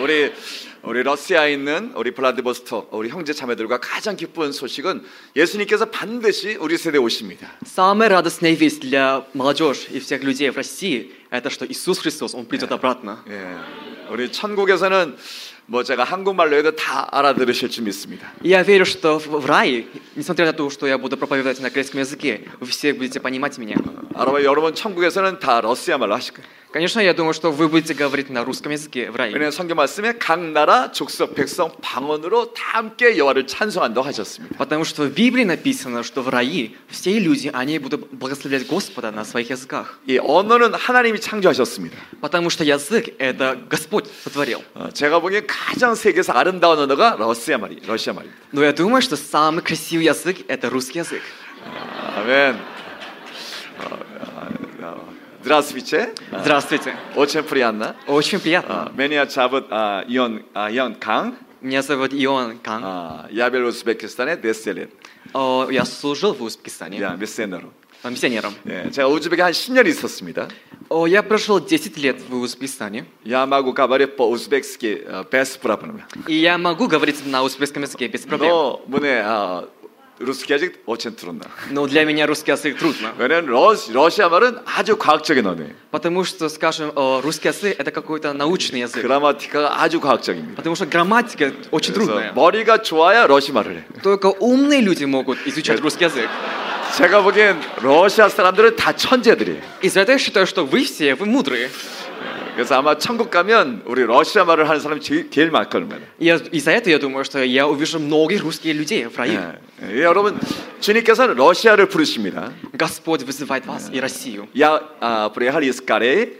우리 러시아에 있는 우리 블라디보스톡 우리 형제 자매들과 가장 기쁜 소식은 예수님께서 반드시 우리 세대에 오십니다. Самая радостная весть для молодежи и всех людей в России – это что Иисус Христос, Он придет обратно. 예, 우리 천국에서는 뭐 제가 한국말로 해도 다 알아들으실 줄 믿습니다. Я верю, что в рае, несмотря на то, что я буду проповедовать на греческом языке, вы все будете понимать меня. 여러분 천국에서는 다 러시아 말로 하실 거예요. Конечно, я думаю, что вы будете говорить на русском языке в рае. 왜냐하면 성경 말씀에 각 나라, 족속, 백성, 방언으로 다 함께 여호와를 찬송한다고 하셨습니다. Потому что в Библии написано, что в рае все люди, они будут благословлять Господа на своих языках. 이 언어는 하나님이 창조하셨습니다. Потому что язык – это Господь сотворил. 제가 보기엔 가장 세계에서 아름다운 언어가 러시아 말입니다. Но я думаю, что самый красивый язык – это русский язык. 아멘. Здравствуйте. Здравствуйте. Очень приятно. Очень приятно. Меня зовут Ион Кан. Меня зовут Ион Кан. Я был в Узбекистане 10 лет. Я служил в Узбекистане. Миссионером. 제가 우즈벡에 한 10년 있었습니다. Я прожил 10 лет в Узбекистане. Я могу говорить по-узбекски без проблем. И я могу говорить на узбекском языке без проблем. Но мне русский язык очень трудно. Но для меня русский язык трудно. 왜냐면 러시아 말은 아주 과학적인 언어예요. Потому что, скажем, русский язык это какой-то научный язык. 그라마티카가 아주 과학적입니다. Потому что грамматика очень трудная. 머리가 좋아야 러시아 말을 해. Только умные люди могут изучать русский язык. 제가 보기엔 러시아 사람들은 다 천재들이에요. Из-за этого я считаю, что вы мудрые. 그래서 아마 천국 가면 우리 러시아 말을 하는 사람이 제일 많을 겁니다. Из-за этого я думаю, что я увижу многих русских людей в раю. 여러분, 주님께서는 러시아를 부르십니다. Господь вызывает вас и Россию. Я приехал из Кореи,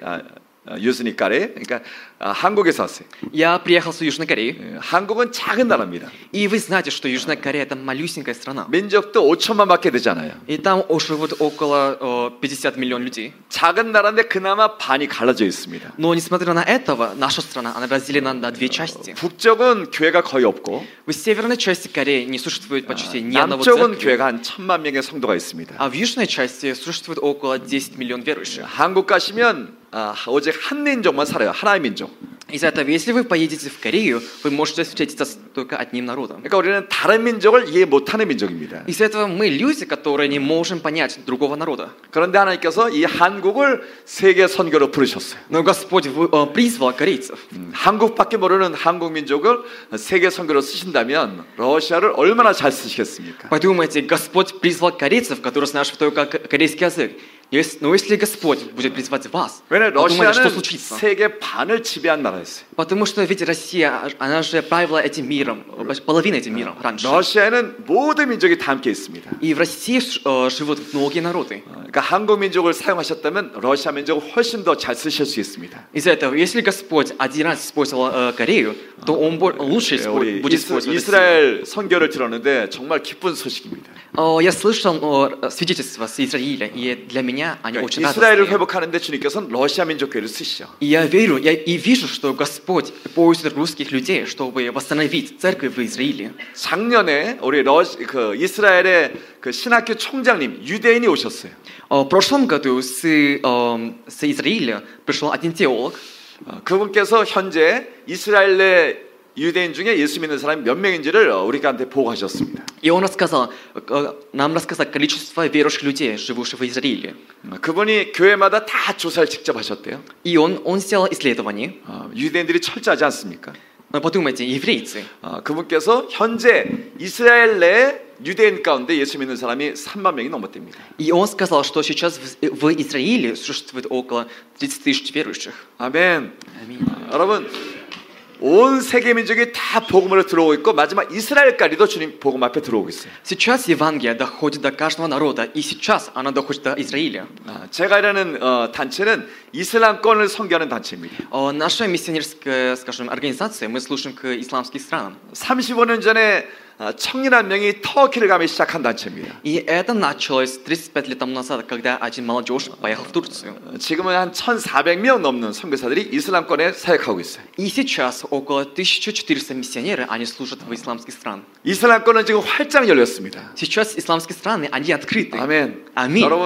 Южной Кореи. 그러니까 한국에서 왔어요. Я приехал с Южной Кореи. 한국은 작은 나라입니다. И вы знаете, что Южная Корея это малюсенькая страна. 민족도 5천만밖에 되지 않아요. И там живут около 50 миллионов людей. 작은 на라인데 그나마 반이 갈라져 있습니다. Но несмотря на это, наша страна она разделена на две части. 북쪽은 교회가 거의 없고, в северной части Кореи не существует почти ни одного 남쪽은 церкви. 교회가 한 1,000만 명의 성도가 있습니다. А в южной части существует около 10 миллионов верующих. 한국 가시면 오직 한 민족만 살아요. 하나의 민족. Из-за этого, если вы поедете в Корею, вы можете встретиться только одним народом. 그러니까 우리는 다른 민족을 이해 못하는 민족입니다. Из-за этого мы люди, которые не можем понять другого народа. 그런데 하나님께서 이 한국을 세계 선교로 부르셨어요. Но Господь призвал корейцев. 한국밖에 모르는 한국 민족을 세계 선교로 쓰신다면 러시아를 얼마나 잘 쓰시겠습니까? Подумайте, Господь призвал корейцев, которые знают только корейский язык. Но если Господь будет призвать вас, подумайте, что случится. 세계 반을 지배한 나라였어요. Потому что ведь Россия, она же правила этим миром, половиной этим миром раньше. 러시아에는 모든 민족이 다 함께 있습니다. И в России живут многие народы. 그러니까 한국 민족을 사용하셨다면 러시아 민족을 훨씬 더 잘 쓰실 수 있습니다. Из-за этого, если Господь один раз использовал Корею, то Он лучше будет использовать Россию. 이스라엘 선교를 들었는데 정말 기쁜 소식입니다. Я слышал свидетельства с Израиля, и для меня они очень 이스라엘을 радостные. 회복하는데 주님께서는 러시아 민족 교회를 쓰시죠. И я верю, и вижу, что Господь пользует русских людей, чтобы восстановить церковь в Израиле. 작년에 우리 이스라엘의 그 신학교 총장님 유대인이 오셨어요. В прошлом году с Израиля пришел один теолог. 그분께서 현재 이스라엘 내 유대인 중에 예수 믿는 사람이 몇 명인지를 우리한테 보고하셨습니다. И он нам рассказал количество верующих людей, живущих в Израиле. 그분이 교회마다 다 조사를 직접 하셨대요. И он сделал исследование. 유대인들이 철저하지 않습니까? Подумайте, еврейцы. 그분께서 현재 이스라엘 내 유대인 가운데 예수 믿는 사람이 3만 명이 넘었답니다. И он сказал, что сейчас в Израиле существует около 30 тысяч верующих. 아멘. 여러분, 온 세계 민족이 다 복음으로 들어오고 있고 마지막 이스라엘까지도 주님 복음 앞에 들어오고 있어요. Сейчас Евангелие доходит до каждого народа, и сейчас оно доходит до Израиля. 제가 일하는 단체는 이슬람권을 선교하는 단체입니다. Наша миссионерская, скажем, организация, мы служим к исламским странам. 35년 전에 청년 한 명이 터키를 가기 시작한 단체입니다. И это началось 35 лет тому назад, когда один молодежь поехал в Турцию. 지금은 한 1,400명 넘는 선교사들이 이슬람권에 사역하고 있어요. И сейчас около 1400 миссионеров, они служат в исламских странах. 이슬람권은 지금 활짝 열렸습니다. Сейчас исламские страны, они открыты. 아멘. 아멘. 여러분,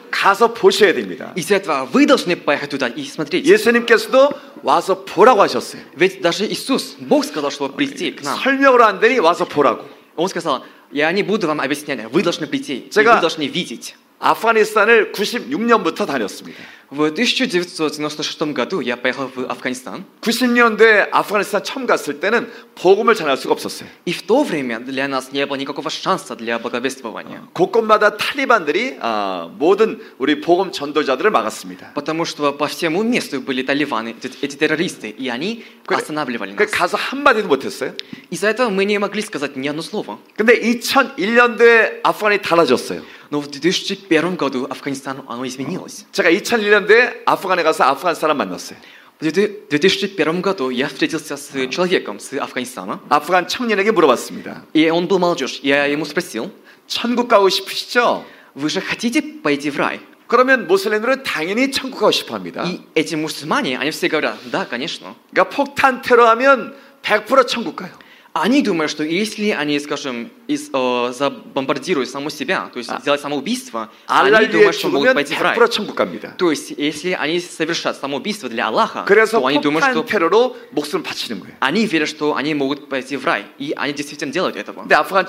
가서 보셔야 됩니다. Из-за этого вы должны поехать туда и смотреть. 예수님께서도 와서 보라고 하셨어요. Ведь даже Иисус, Бог сказал, что прийти к нам. 설명으로 안 되니 와서 보라고. Он сказал, я не буду вам объяснять, вы должны прийти, и вы должны видеть. 아프가니스탄을 96년부터 다녔습니다. В 1996 году я поехал в Афганистан. 90년대에 아프가니스탄 처음 갔을 때는 복음을 전할 수가 없었어요. И в то время для нас не было никакого шанса для благовествования. 곳곳마다 탈리반들이 모든 우리 복음 전도자들을 막았습니다. Потому что по всему месту были талибаны, эти террористы, и они останавливали нас. 가서 한 마디도 못했어요. Из-за этого мы не могли сказать ни одно слово. 근데 2001년도에 아프간이 달라졌어요. Но в 2001 году Афганистан оно изменилось. 제가 2001년도에 아프간에 가서 아프간 사람 만났어요. В 2001 году я встретился с человеком с Афганистана. 아프간 청년에게 물어봤습니다. И он был молодежь. Я ему спросил: 천국 가고 싶으시죠? Вы же хотите пойти в рай? 그러면 모슬림들은 당연히 천국 가고 싶어합니다. И эти мусульмане, они все говорят: да, конечно. 그러니까 폭탄 테러하면 100% 천국 가요. Они думают, что если они, скажем, забомбардируют саму себя, то есть сделать самоубийство, они думают, что могут пойти в рай. То есть, если они совершат самоубийство для Аллаха, то они думают, что они верят, что они могут пойти в рай, и они действительно делают этого.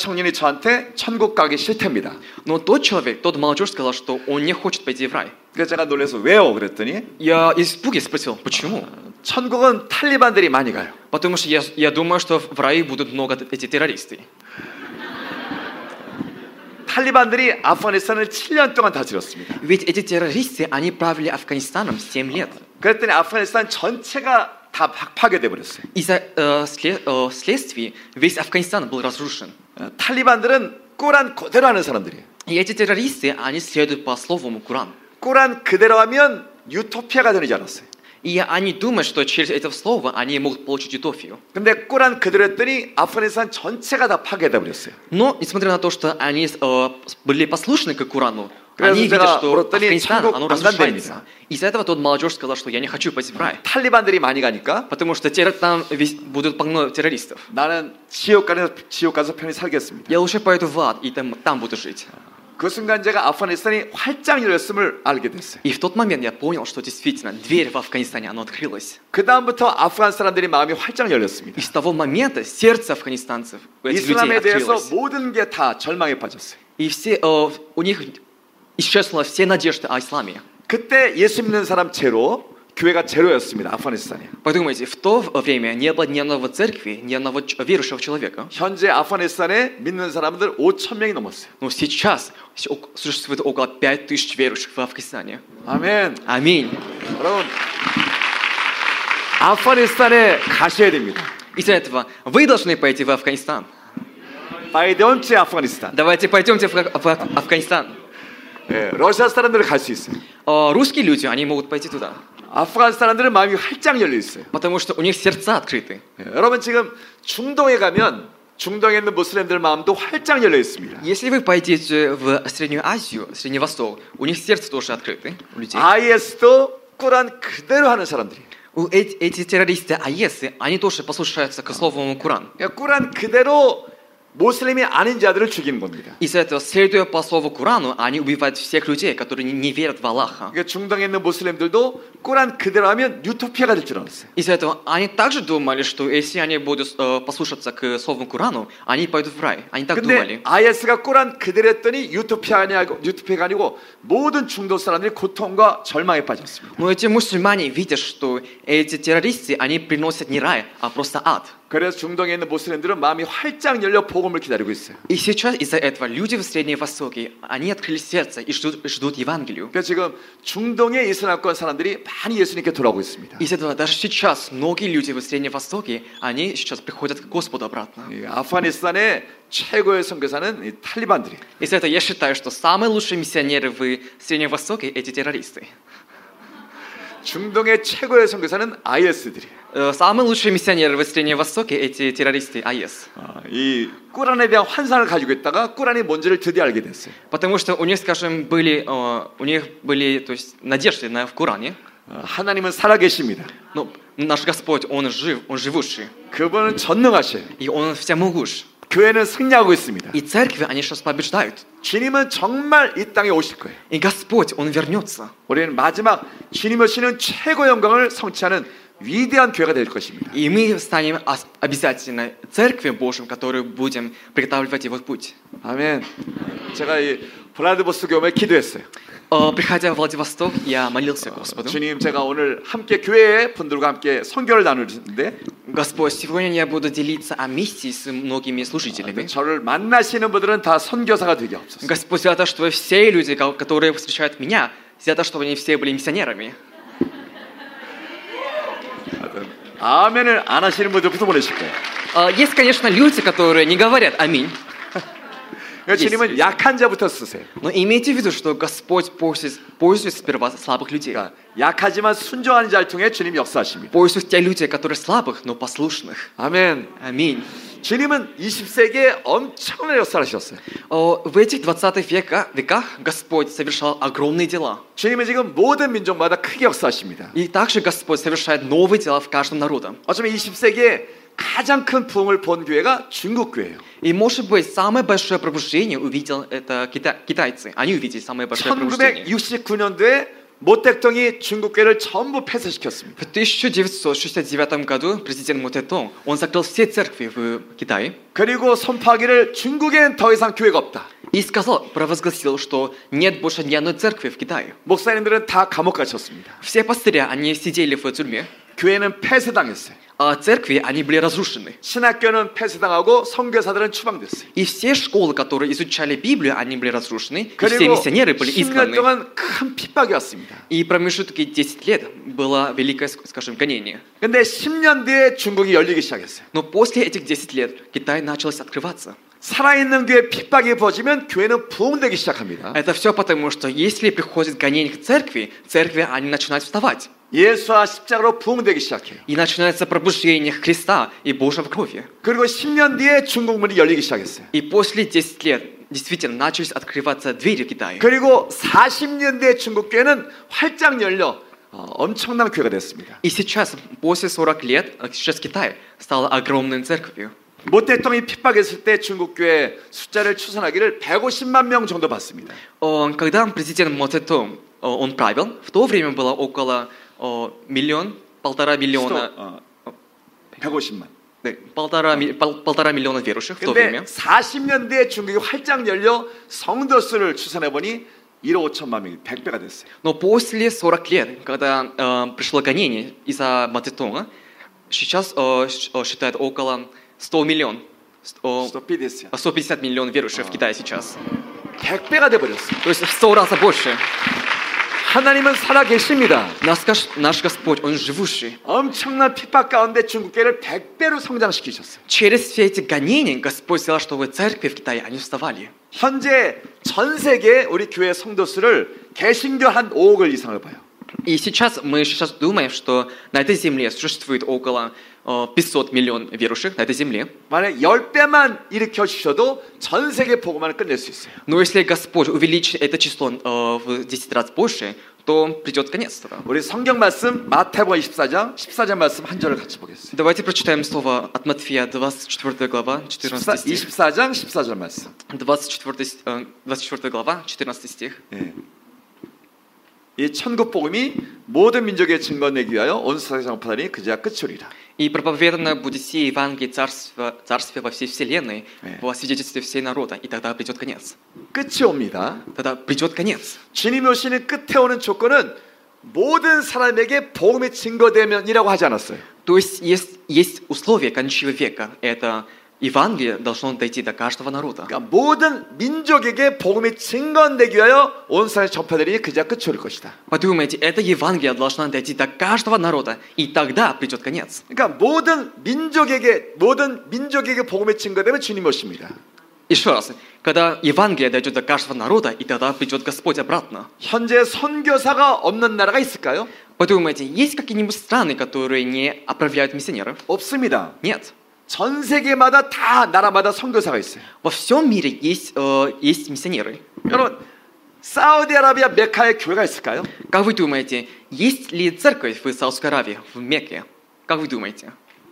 Но тот человек, тот молодежь сказал, что он не хочет пойти в рай. 제가 놀라서 왜요? 그랬더니 я испуге спросил, почему? 천국은 탈리반들이 많이 가요. Потому что я думаю, что в раю будут много эти террористы. 탈리반들이 아프가니스탄을 7년 동안 다스렸습니다. Ведь эти террористы, они правили Афганистаном 7 лет. 그랬더니 아프가니스탄 전체가 다 파괴돼 버렸어요. Из-за следствий весь Афганистан был разрушен. 탈리반들은 꾸란 그대로 하는 사람들이에요. И эти террористы, они следуют по слову Коран. 꾸란 그대로 하면 유토피아가 되는 줄 알았어요. И они думают, что через это слово они могут получить утопию. 근데 꾸란 그대로 했더니 아프가니스탄 전체가 다 파괴돼 버렸어요. Но несмотря на то, что они были послушны к Корану, они видят, что Афганистан оно разрушается. Из-за этого тот молодежь сказал, что я не хочу пойти в рай. 탈리반들이 많이 가니까. Потому что там будут полно террористов. 나는 지옥 가서 편히 살겠습니다. Я лучше пойду в ад и там буду жить. 그 순간 제가 아프가니스탄이 활짝 열렸음을 알게 됐어요. И в тот момент я понял, что действительно дверь в Афганистане она открылась. 그 다음부터 아프간 사람들이 마음이 활짝 열렸습니다. И с того момента сердце афганистанцев, этих людей 이슬람에 대해서 открылось. 모든 게 다 절망에 빠졌어요. И все у них исчезла все надежды о исламе. 그때 예수 믿는 사람 제로 교회가 제로였습니다. 아프가니스탄에. Подумайте, в то время не было ни одного церкви, ни одного верующего человека. 현재 아프가니스탄에 믿는 사람들 5,000명이 넘었어요. Но сейчас существует около 5000 верующих в Афганистане. 아멘. Аминь. 여러분, 아프가니스탄에 가셔야 됩니다. Из-за этого вы должны пойти в Афганистан. пойдемте 아프가니스탄. Давайте пойдемте в Афганистан. 예, 러시아 사람들은 갈 수 있어요. Русские люди, они могут пойти туда. 아프간 사람들은 마음이 활짝 열려 있어요. Потому что у них сердца открыты. 여러분 지금 중동에 가면 중동에 있는 무슬림들 마음도 활짝 열려 있습니다. Если вы пойдете в Среднюю Азию, Средний Восток, у них сердце тоже открыты у людей. IS도 꾸란 그대로 하는 사람들이. Эти террористы АЕСы, они тоже послушаются к слову Коран. 꾸란 그대로 모슬림이 아닌 자들을 죽이는 겁니다. Из-за этого, следуя по слову Корану, они убивают всех людей, которые не верят в Аллаха. 그러니까 중동에 있는 모슬림들도 꾸란 그대로 하면 유토피아가 될 줄 알았어요. Из-за этого они также думали, что если они будут послушаться к слову Корану, они пойдут в рай. Они так думали. 근데 IS가 꾸란 그대로 했더니 유토피아가 아니고 모든 중동 사람들이 고통과 절망에 빠졌습니다. Но эти мусульмане видят, что эти террористы, они приносят не рай, а просто ад. 그래서 중동에 있는 모슬림들은 마음이 활짝 열려 복음을 기다리고 있어요. И сейчас из-за этого люди в Среднем Востоке, они открыли сердце и ждут Евангелию. 그래서 지금 중동의 이슬람권 사람들이 많이 예수님께 돌아오고 있습니다. Из-за этого даже сейчас многие люди в Среднем Востоке, они сейчас приходят к Господу обратно. 아프가니스탄의 최고의 선교사는 이 탈리반들이. Из-за этого я считаю, что самые лучшие миссионеры в Среднем Востоке эти террористы. 중동의 최고의 선교사는 IS들이. Самые лучшие миссионеры в Среднем Востоке эти террористы АЕС. 이 꾸란에 대한 환상을 가지고 있다가 꾸란이 뭔지를 드디어 알게 됐어요. Потому что у них, скажем, были, то есть, надежды в Коране. 하나님은 살아계십니다. Но Наш Господь, Он жив, Он живущий. 그분은 전능하셔요. И Он всемогущ. 교회는 승리하고 있습니다. И церкви, они сейчас побеждают. 주님은 정말 이 땅에 오실 거예요. И Господь, Он вернется. 우리는 마지막 주님 오시는 최고 영광을 성취하는 위대한 교회가 될 것입니다. И мы станем обязательно церковью Божьим, которую будем приготавливать Его путь. 아멘. 제가 이 블라디보스토크 교회에 기도했어요. Приходя в Владивосток, я молился Господу. 주님, 제가 오늘 함께 교회 분들과 함께 선교를 나누는데, Господь, сегодня я буду делиться о миссии с многими служителями. 저를 만나시는 분들은 다 선교사가 되게 없었어요. Господь, за то, что все люди, которые встречают меня, за то, чтобы они все были миссионерами. 아멘을 안 하시는 분들부터 보내실 거예요. Есть, конечно, люди, которые не говорят аминь. 주님은 약한 자부터 쓰세요. Но имейте в виду, что Господь пользуется сперва слабых людей. 약하지만 순종하는 자를 통해 주님 역사하십니다. Пользуются те люди, которые слабых, но послушных. 아멘. Аминь. 주님은 20세기에 엄청난 역사를 하셨어요. В этих 20 веках Господь совершал огромные дела. 주님은 지금 모든 민족마다 크게 역사하십니다. И также Господь совершает новые дела в каждом народе. 어쩌면 20세기에 가장 큰 부흥을 본 교회가 중국 교회예요. И может быть самое большое пробуждение увидел это китайцы. Они увидели самое большое пробуждение. 1969년도에 모택동이 중국 교회를 전부 폐쇄시켰습니다. В 1969 году президент Мо он закрыл все церкви в Китае. 그리고 선포하기를 중국엔 더 이상 교회가 없다. И провозгласил, что нет больше ни одной церкви в Китае. 목사님들은 다 감옥 갇혔습니다. Все пастыря, они сидели в тюрьме. 교회는 폐쇄당했어요. А церкви, они были разрушены. 신학교는 폐쇄당하고 선교사들은 추방됐어요. И все школы, которые изучали Библию, они были разрушены. И все миссионеры были изгнаны. 10년 동안 큰 핍박이 왔습니다. И промежутки 10 лет было великое, скажем, гонение. 근데 10년 뒤에 중국이 열리기 시작했어요. Но после этих 10 лет Китай началось открываться. 살아있는 교회 핍박이 벌어지면 교회는 부흥되기 시작합니다. Это все потому, что если приходит гонение к церкви, они начинают вставать. 예수와 십자가로 부흥되기 시작해요. И начинается пробуждение Христа и Божьей крови. 그리고 10년 뒤에 중국 문이 열리기 시작했어요. И после 10 лет действительно начались открываться двери в Китае. 그리고 40년 뒤에 중국 교회는 활짝 열려 엄청난 교회가 됐습니다. И сейчас, после 40 лет, сейчас Китай стал огромной церковью. 모 대통령이 핍박했을 때 중국 교회 숫자를 추산하기를 150만 명 정도 봤습니다. Когда президент Мо он правил, в то время было около 1-1,5 миллиона. 150만. 네, 1,5 миллиона верующих в то время. 40년 뒤에 중국이 활짝 열려 성도 수를 추산해 보니 1억 5천만 명이 100배가 됐어요. Но после 40 лет, когда пришло гонение из-за Мо Цзэдуна, сейчас считают около 100 миллионов. 150 миллионов верующих в Китае сейчас. 100배가 돼 버렸어요. То есть в 100 раз больше. 하나님은 살아 계십니다. Наш Господь, Он живущий. 엄청난 핍박 가운데 중국 교회를 100배로 성장시키셨어요. Через все эти гонения Господь сделал, чтобы церкви в Китае они вставали. 현재 전 세계 우리 교회 성도 수를 개신교 한 5억 이상을 봐요. И мы сейчас думаем, что на этой земле существует около 500 миллионов верующих на этой земле. 만약 10배만 일으켜 주셔도 전 세계 복음만을 끝낼 수 있어요. Но если Господь увеличит это число в 10 раз больше, то придет конец. 우리 성경 말씀 마태복음 14장 말씀 한 절을 같이 보겠습니다. Давайте прочитаем слово от Матфея 24 глава 14 стих. 24장 14절 말씀. 24 глава 14 стих. 예. 이 천국 복음이 모든 민족의 증거 내기 위하여 온 세상에 전파하니 그제야 끝이리라. И проповедано будет сие Евангелие царствия во всей вселенной, во свидетельстве всей народа, и тогда придет конец. 끝이 옵니다. Тогда придет конец. 주님이 오시는 끝에 오는 조건은 모든 사람에게 복음의 증거되면이라고 하지 않았어요. То есть есть условие конечного века. Это Евангелие должно дойти до каждого народа. 그러니까 모든 민족에게 복음이 증거되기 위하여 온 세상에 전파되리니 그제야 끝이 올 것이다. Подумайте, это Евангелие должно дойти до каждого народа, и тогда придет конец. 그러니까 모든 민족에게 복음이 증거되면 주님 오십니다. Еще раз, когда Евангелие дойдет до каждого народа, и тогда придет Господь обратно. 현재 선교사가 없는 나라가 있을까요? Подумайте, есть какие-нибудь страны, которые не отправляют миссионеров? 없습니다. Нет. 전 세계마다 다 나라마다 선교사가 있어요. Во всем мире есть миссионеры. 여러분, 사우디아라비아 메카에 교회가 있을까요? Как вы думаете, есть ли церковь в Саудовской Аравии, в Мекке? Как вы думаете?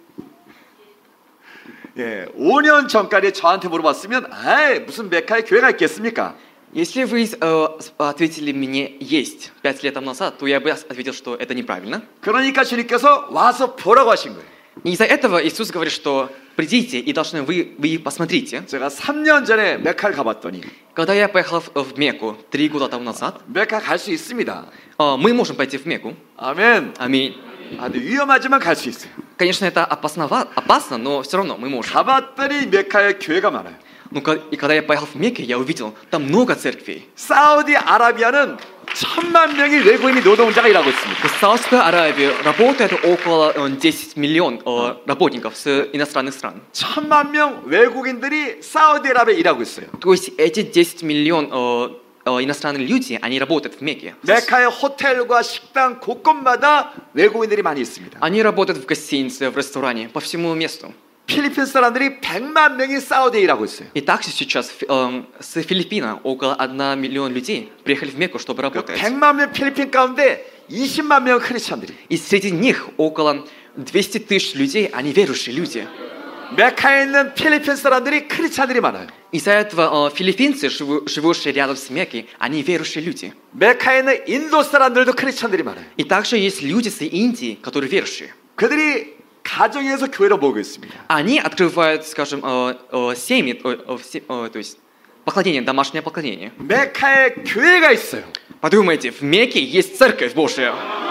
예, 5년 전까지 저한테 물어봤으면, 무슨 메카에 교회가 있겠습니까? Если вы ответили мне есть 5 лет назад, то я бы ответил, что это неправильно. 그러니까 주님께서 와서 보라고 하신 거예요. И из-за этого Иисус говорит, что придите и должны вы посмотрите. 제가 3년 전에 메카를 가봤더니, Когда я поехал в Мекку 3 года тому назад, 메카 갈 수 있습니다. мы можем пойти в Мекку. 아멘. Аминь. 위험하지만 갈 수 있어요. Конечно, это опасно, но все равно мы можем. 가봤더니 메카에 교회가 많아요. Ну, и когда я поехал в Мекку, я увидел, там много церквей. 사우디아라비아는 1000만 명의 외국인이 노동자가 일하고 있습니다. В Саудовской Аравии работает около 10 миллионов работников с иностранных стран. 1000만 명 외국인들이 사우디아라비아에 일하고 있어요. То есть эти 10 миллионов иностранные люди, они работают в Мекке. 메카의 호텔과 식당 곳곳마다 외국인들이 많이 있습니다. Они работают в гостинице, в ресторане, по всему месту. 필리핀 사람들이 100만 명이 사우디에 일하고 있어요. И также сейчас с Филиппин около 1 миллион людей приехали в Мекку, чтобы работать. 100만 명 필리핀 가운데 20만 명 크리스천들이. И среди них около 200 тысяч людей, они верующие люди. 메카에 있는 필리핀 사람들이 크리스천들이 많아요. Из-за этого филиппинцы, живущие рядом с Меккой, они верующие люди. 메카에 있는 인도 사람들도 크리스천들이 많아요. И также есть люди с Индии, которые верующие. 그들이 가정에서 교회로 모이고 있습니다. Они открывают, скажем, семьи, то есть поклонение, домашнее поклонение. 메카에 교회가 있어요. Подумайте, в Мекке есть церковь Божья.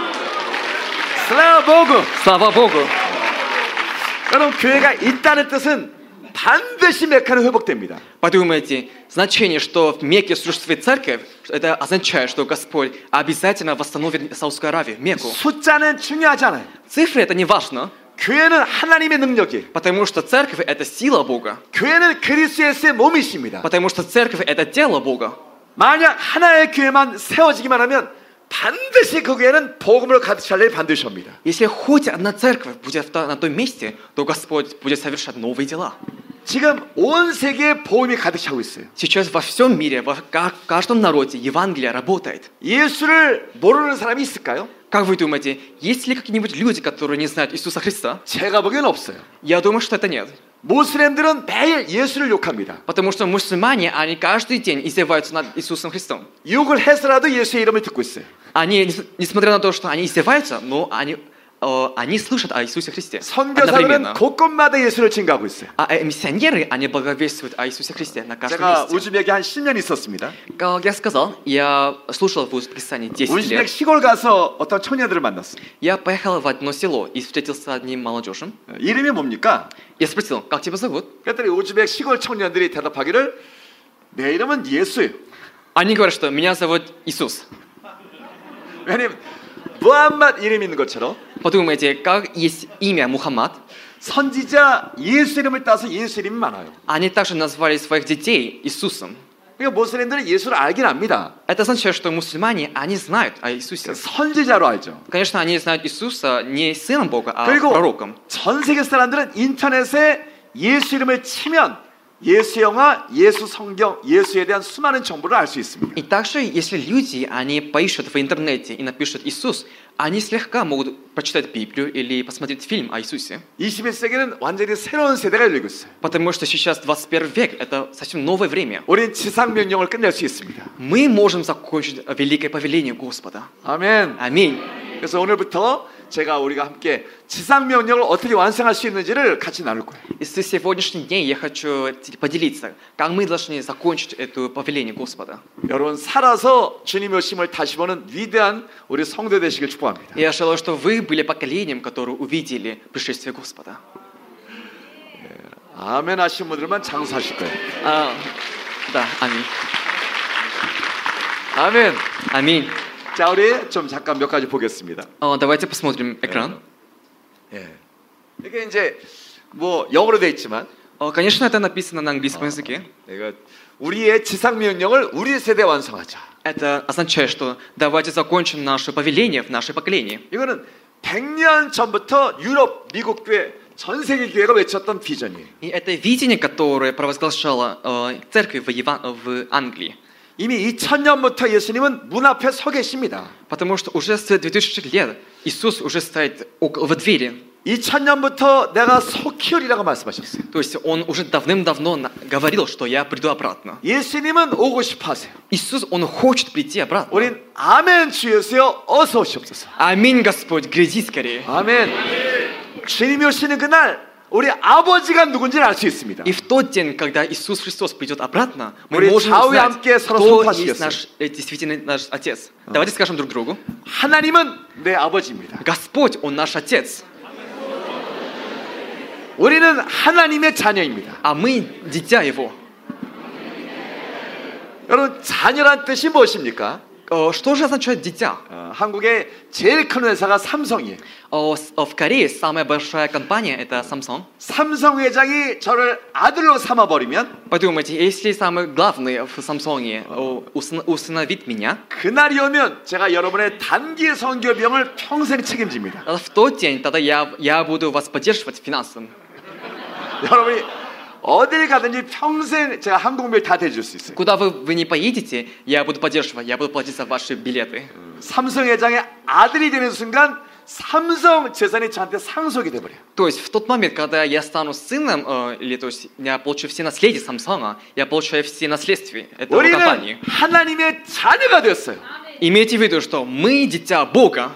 Слава Богу. Слава Богу. 여러분, 교회가 있다는 뜻은 반드시 메카는 회복됩니다. Подумайте, значение, что в Мекке существует церковь, это означает, что Господь обязательно восстановит Саудовскую Аравию, Мекку. 숫자는 중요하지 않아요. Цифры это не важно. 교회는 하나님의 능력이에요. Потому что церковь это сила Бога. 교회는 그리스도 예수의 몸이십니다. Потому что церковь это тело Бога. 만약 하나의 교회만 세워지기만 하면 반드시 그 교회는 복음으로 가득 찰 일이 반드시 옵니다. Если хоть одна церковь будет на том месте, то Господь будет совершать новые дела. 지금 온 세계에 복음이 가득 차고 있어요. Сейчас во всем мире, в каждом народе Евангелие работает. 예수를 모르는 사람이 있을까요? Как вы думаете, есть ли какие-нибудь люди, которые не знают Иисуса Христа? 제가 보기엔 없어요. Я думаю, что это нет. 모슬렘들은 매일 예수를 욕합니다. Потому что мусульмане, они каждый день издеваются над Иисусом Христом. 욕을 해서라도 예수의 이름을 듣고 있어요. Они, несмотря на то, что они издеваются, но они слышат о Иисусе Христе. 선교사들은 곳곳마다 예수를 증거하고 있어요. А миссионеры, они благовествуют о Иисусе Христе на каждом 제가 месте. 우즈벡에 한 10년 있었습니다. Как я сказал, я слушал в Узбекистане 10 우즈벡 лет. 시골 가서 어떤 청년들을 만났어요. Я поехал в одно село и встретился с одним молодежью. 이름이 뭡니까? Я спросил, как тебя зовут? 그랬더니 우즈벡 시골 청년들이 대답하기를 내 이름은 예수예요. Они говорят, что меня зовут Иисус. 왜냐면 무함마드 이름이 있는 것처럼 Подумайте, как есть имя Мухаммад. 선지자 예수 이름을 따서 예수 이름이 많아요. Они также назвали своих детей Иисусом. 그러니까 모슬렘들은 예수를 알긴 압니다. Это означает, что мусульмане, они знают о Иисусе. 선지자로 알죠. Конечно, они знают Иисуса не сыном Бога, а 그리고 пророком. 전 세계 사람들은 인터넷에 예수 이름을 치면 예수 영화, 예수 성경, 예수에 대한 수많은 정보를 알 수 있습니다. И также, если люди, они поищут в интернете и напишут Иисус, они слегка могут прочитать Библию или посмотреть фильм о Иисусе. 21세기는 완전히 새로운 세대가 열리고 있어요. Потому что сейчас 21 век, это совсем новое время. 우린 지상 명령을 끝낼 수 있습니다. Мы можем закончить великое повеление Господа. 아멘. Аминь. 그래서 오늘부터 제가 우리가 함께 지상 명령을 어떻게 완성할 수 있는지를 같이 나눌 거예요. И с сегодняшний день я хочу поделиться, как мы должны закончить это повеление Господа. 여러분 살아서 주님의 오심을 다시 보는 위대한 우리 성도 되시길 축복합니다. Я желаю, что вы были поколением, которое увидели пришествие Господа. 아멘 하신 분들만 장수하실 거예요. Да, аминь. 아멘. Аминь. 자, 우리 좀 잠깐 몇 가지 보겠습니다. Давайте посмотрим экран. 예. 이게 이제 뭐 영어로 돼 있지만, конечно, это написано на английском языке. 내가 우리의 지상 명령을 우리 세대에 완성하자. Это означает, что давайте закончим наше повеление в наше поколение. 이거는 100년 전부터 유럽, 미국 교회, 전 세계 교회가 외쳤던 비전이에요. И это видение, которое провозглашала церковь в Англии. 이미 2000년부터 예수님은 문 앞에 서 계십니다. Потому что уже с 2000 лет Иисус уже стоит в двери 2000년부터 내가 속히 오리라고 말씀하셨어요. То есть он уже давным-давно говорил, что я приду обратно. 예수님은 오고 싶어 하세요. Иисус, он хочет прийти обратно. 우린 아멘 주 예수여 어서 오시옵소서. Аминь, Господь, гряди скорее. 아멘. 주님이 오시는 그날 우리 아버지가 누군지를 알 수 있습니다. И в тот день, когда Иисус Христос придет обратно, мы 우리 можем 좌우에 узнать, 함께 서로 кто 손파시겠어요. есть наш, действительно наш Отец. Давайте скажем друг другу. 하나님은 내 아버지입니다. Господь, Он наш Отец. 우리는 하나님의 자녀입니다. А мы дитя Его. 여러분 자녀란 뜻이 무엇입니까? Что же означает дитя? 한국의 제일 큰 회사가 삼성이에요. В Корее самая большая компания это Samsung. 삼성 회장이 저를 아들로 삼아버리면 Подумайте, если самый главный в Samsung усыновит меня, 그날이 오면 제가 여러분의 단기 선교 비용을 평생 책임집니다. в тот день тогда я буду вас поддерживать финансово. 여러분이 어딜 가든지 평생 제가 항공비를 다 대줄 수 있어요. Куда вы не поедете, я буду поддерживать, я буду платить за ваши билеты. 삼성 회장의 아들이 되는 순간 삼성 재산이 저한테 상속이 돼 버려요. То есть в тот момент, когда я стану сыном, или то есть я получу все наследия Самсунга, я получаю все наследия этого компании. 우리는 하나님의 자녀가 되었어요. Имейте в виду, что мы дитя Бога.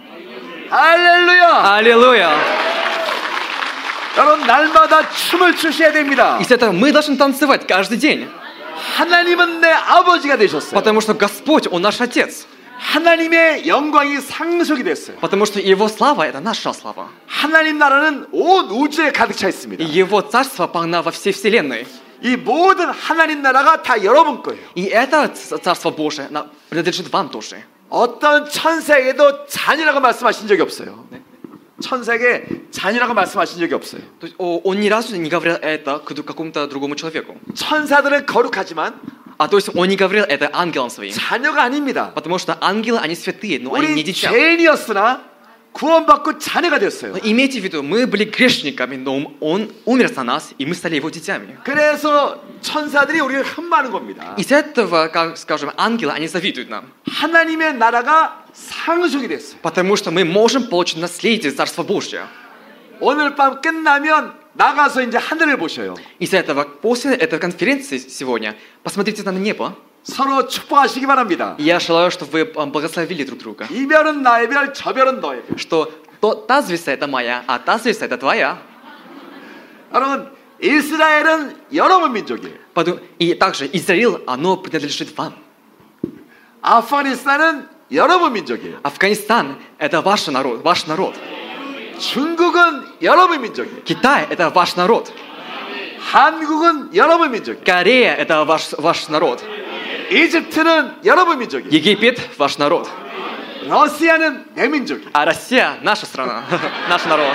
할렐루야. Аллилуйя. 여러분 날마다 춤을 추셔야 됩니다. Из этого мы должны танцевать каждый день. 하나님은 내 아버지가 되셨어요. Потому что Господь, Он наш Отец. 하나님의 영광이 상속이 됐어요. Потому что Его слава – это наша слава. 하나님 나라는 온 우주에 가득 차 있습니다. И Его царство полно во всей вселенной. 이 모든 하나님 나라가 다 여러분 거예요. И это царство Божие принадлежит вам тоже. 어떤 천사에게도 자녀라고 말씀하신 적이 없어요. 천사에게 자녀라고 말씀하신 적이 없어요. То есть Он ни разу не говорил это какому-то другому человеку. 천사들은 거룩하지만 То есть Он не говорил это ангелам своим. 자녀가 아닙니다. Потому что ангелы, они святые, но они не 우리 дитя. 죄인이었으나 구원받고 자녀가 됐어요. Но имейте в виду, мы были грешниками, но Он умер за нас, и мы стали Его детьми. 그래서 천사들이 우리를 흠모하는 겁니다. Из этого, как скажем, ангелы, они завидуют нам. 하나님의 나라가 상속이 됐어요. Потому что мы можем получить наследие Царства Божьего. 오늘 밤 끝나면 나가서 이제 하늘을 보셔요. Из этого, после этой конференции сегодня, посмотрите на небо. 서로 축복하시기 바랍니다. Я желаю, чтобы вы благословили друг друга. 이 별은 나의 별, 저 별은 너의 별. Что та звезда это моя, а та звезда это твоя. 여러분, 이스라엘은 여러분 민족이에요. И также Израиль, оно принадлежит вам. 아프가니스탄은 여러분 민족이에요. Афганистан это ваш народ. 중국은 여러분 민족이에요. Китай это ваш народ. 한국은 여러분 민족이에요. Корея это ваш народ. 이집트는 여러분 민족이에요. Египет ваш народ. 러시아는 내 민족이에요. А Россия наша страна, наш народ.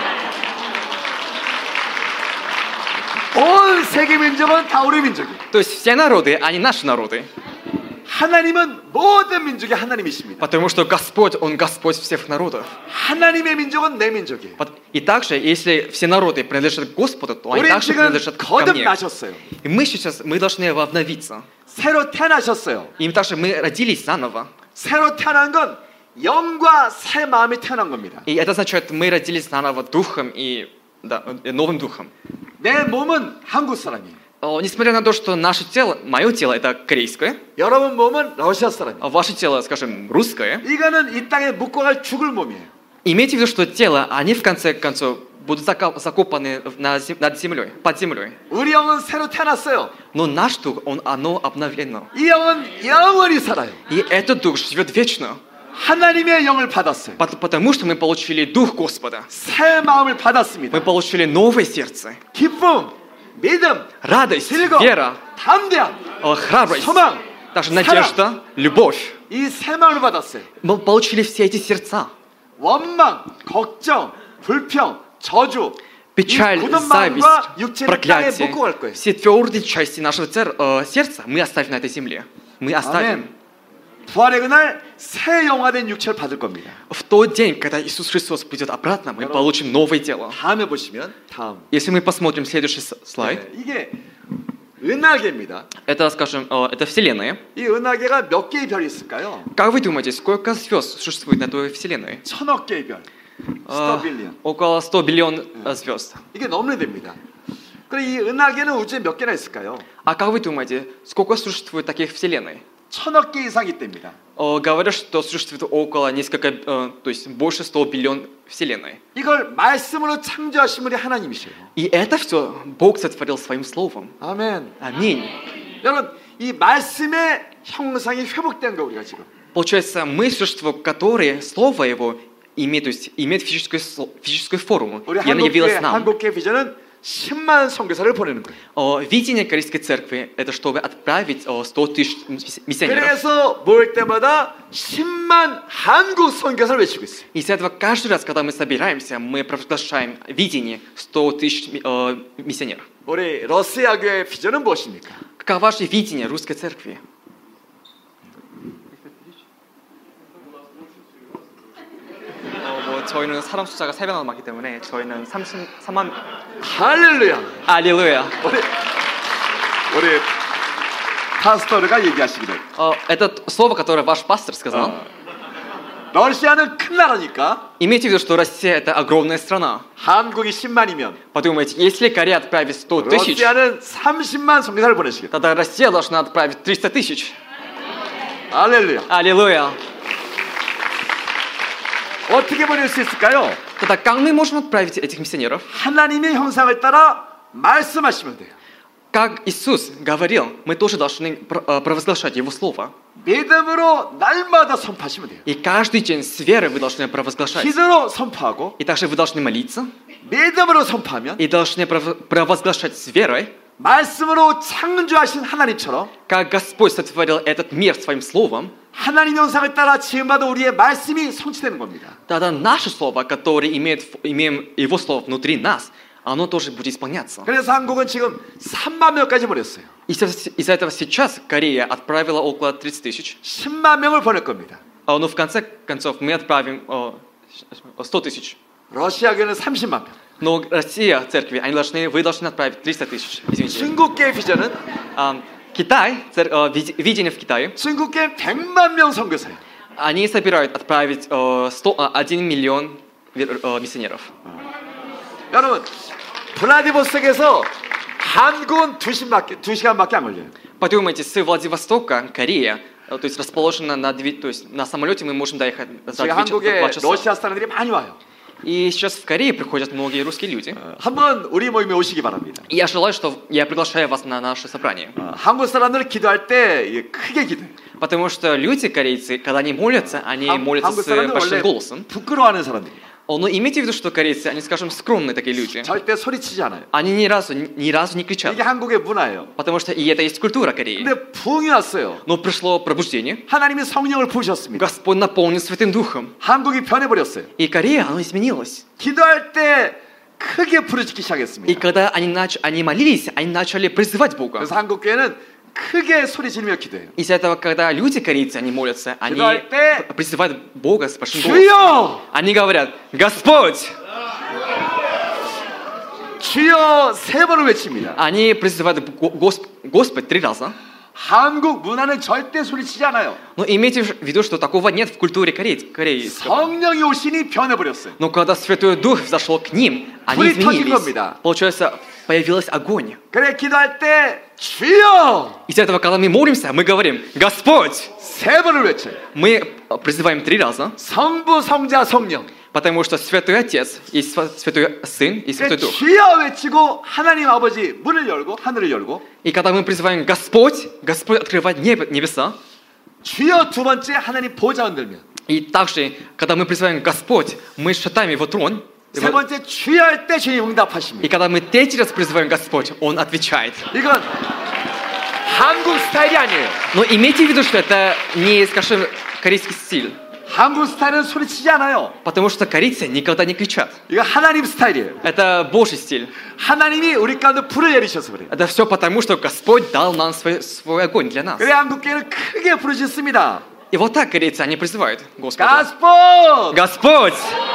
온 세계 민족은 다 우리 민족이에요. То есть все народы, они наши народы. 하나님은 모든 민족의 하나님이십니다. Потому что Господь, Он Господь всех народов. 하나님의 민족은 내 민족이에요. И также, если все народы принадлежат Господу, то они 우리 также 지금 принадлежат ко мне. 거듭나셨어요. И мы должны обновиться. 새로 태어나셨어요. И также мы родились заново. 새로 태어난 건 영과 새 마음이 태어난 겁니다. И это означает, мы родились заново духом и новым духом. 내 몸은 한국 사람이에요. Несмотря на то, что наше тело, мое тело, это корейское, 여러분 몸은 러시아 사람이에요. а ваше тело, скажем, русское, 이거는 이 땅에 묻고 갈 죽을 몸이에요. имейте в виду, что тело, они в конце концов будут закопаны над землей, под землей. 우리 영은 새로 태어났어요. Но наш дух, оно обновлено. 이 영은 영원히 살아요. И этот дух живет вечно. 하나님의 영을 받았어요. Потому что мы получили дух Господа. 새 마음을 받았습니다. Мы получили новое сердце. 기쁨, 믿음, радость, 즐거움, вера, 담대함, храбрость, 소망, даже надежда, любовь. 이 새 마음을 받았어요. Мы получили все эти сердца. 원망, 걱정, 불평, 저주, печаль, зависть, проклятие. Все твердые части нашего сердца мы оставим на этой земле. Мы оставим. 부활의 그날 새 영화된 육체를 받을 겁니다. В тот день, когда Иисус Христос придет обратно, мы получим новое тело. 다음에 보시면 다음. Если мы посмотрим следующий слайд. 이게 은하계입니다. Это, скажем, это Вселенная. 이 은하계가 몇 개의 별이 있을까요? Как вы думаете, сколько звезд существует на той Вселенной? 1000억 개의 별. 100 빌리언. около 100 биллион звезд. 이게 넘는 됩니다. 그럼 이 은하계는 우주에 몇 개나 있을까요? А как вы думаете, сколько существует таких вселенной? 1000억 개 이상이 됩니다. Говорят, что существует около несколько, то есть больше 100 биллион вселенной. 이걸 말씀으로 창조하신 분이 하나님이셔요. И это все Бог сотворил своим словом. 아멘. Аминь. 여러분, 이 말씀의 형상이 회복된 거 우리가 지금. Получается, мы существо, которое слово его имеет, то есть имеет физическую форму. 우리 И оно явилось нам. 한국교회 비전은 10만 선교사를 보내는 거예요. Видение Корейской церкви это чтобы отправить 100 тысяч миссионеров. 그래서 모일 때마다 10만 한국 선교사를 외치고 있어요. И из этого каждый раз, когда мы собираемся, мы провозглашаем видение 100 тысяч миссионеров. 우리 러시아 교회의 비전은 무엇입니까? Каково ваше видение русской церкви? 저희는 사람 숫자가 3배나 많기 때문에 저희는 33만. 할렐루야. 할렐루야. 우리 파스터가 얘기하시기를. Это слово, которое ваш пастор сказал. 러시아는 큰 나라니까. Имейте в виду, что Россия это огромная страна. 한국이 10만이면. Подумайте, если Корея отправит 100 тысяч, 러시아는 30만 선교사를 보내시겠다. тогда Россия должна отправить 300 тысяч. 할렐루야. Аллилуйя. 어떻게 보낼 수 있을까요? Тогда как мы можем отправить этих миссионеров? 하나님의 형상을 따라 말씀하시면 돼요. Как Иисус говорил, мы тоже должны провозглашать Его Слово. 믿음으로 날마다 선포하시면 돼요. И каждый день с верой вы должны провозглашать. 기도로 선포하고, и также вы должны молиться. 믿음으로 선포하면, и должны провозглашать с верой. 말씀으로 창조하신 하나님처럼, как Господь сотворил этот мир своим словом. 하나님 형상을 따라 지음받은 우리의 말씀이 성취되는 겁니다. Тогда наше слово, которое имеем Его слово внутри нас, оно тоже будет исполняться. 그래서 한국은 지금 3만 명까지 보냈어요. Из-за этого сейчас Корея отправила около 30 тысяч. 10만 명을 보낼 겁니다. Но в конце концов мы отправим 100 тысяч. 러시아교는 30만 명. Но Россия, церкви, вы должны отправить 300 тысяч. Извините. 중국계 비전은 Китай, видение в Китае. 중국계 100만 명 선교사예요. Они собирают отправить 1 миллион миссионеров. 여러분, 블라디보스톡에서 한국은 2시간밖에 안 걸려요. Подумайте, с Владивостока, Корея, то есть расположена то есть на самолете мы можем доехать за 2 часа. 러시아 사람들이 많이 와요. И сейчас в Корее приходят многие русские люди. 한번 우리 모임에 오시기 바랍니다. И я приглашаю вас на наше собрание. 한국 사람들 기도할 때 크게 기도해요. Потому что люди корейцы, когда они молятся с большим голосом. 부끄러워하는 사람들이에요. Но имейте в виду, что корейцы, они, скажем, скромные такие люди. 절대 소리치지 않아요. Они ни разу не кричат. 이게 한국의 문화예요. Потому что и это есть культура Кореи. 근데 부흥이 왔어요. Но пришло пробуждение. 하나님이 성령을 부으셨습니다. Господь наполнил Святым Духом. 한국이 변해버렸어요. И Корея, она изменилась. 기도할 때 크게 부르짖기 시작했습니다. И когда они молились, они начали призывать Бога. 그래서 한국 교회는 크게 소리 지르며 기도해요. Из-за этого, когда люди корейцы, они молятся, они призывают Бога с большим голосом. Они говорят: Господь! 주여 3번을 외칩니다. Они призывают Господь 3 раза. 한국 문화는 절대 소리치지 않아요. Но имейте в виду, что такого нет в культуре Кореи. 성령이 오시니 변해버렸어요. Но когда Святой Дух зашел к ним, они изменились. Получается, появился огонь. 그래 기도할 때 주여. Из этого, когда мы молимся, мы говорим: Господь! 3번을 외쳐요. Мы призываем 3 раза. 성부, 성자, 성령. Потому что Святой Отец, и Святой Сын, и Святой Дух. 주여 외치고 하나님 아버지 문을 열고 하늘을 열고. И когда мы призываем Господь, Господь открывает небеса. 주여 두 번째 하나님 보좌 흔들면. И также, когда мы призываем Господь, мы шатаем Его трон. 세 번째 주여 할 때 주님 응답하십니다. И когда мы 3 раз призываем Господь, Он отвечает. 이건 한국 스타일이 아니에요. Но имейте в виду, что это не, скажем, корейский стиль. 한국 스타일은 소리치지 않아요. Потому что корейцы никогда не кричат. 이거 하나님 스타일이에요. Это Божий стиль. 하나님이 우리 가운데 불을 내리셔서 그래요. Это все потому, что Господь дал нам свой огонь для нас. 그래 한국교회는 크게 부르짖습니다. И вот так корейцы, они призывают Господа. Господь! Господь!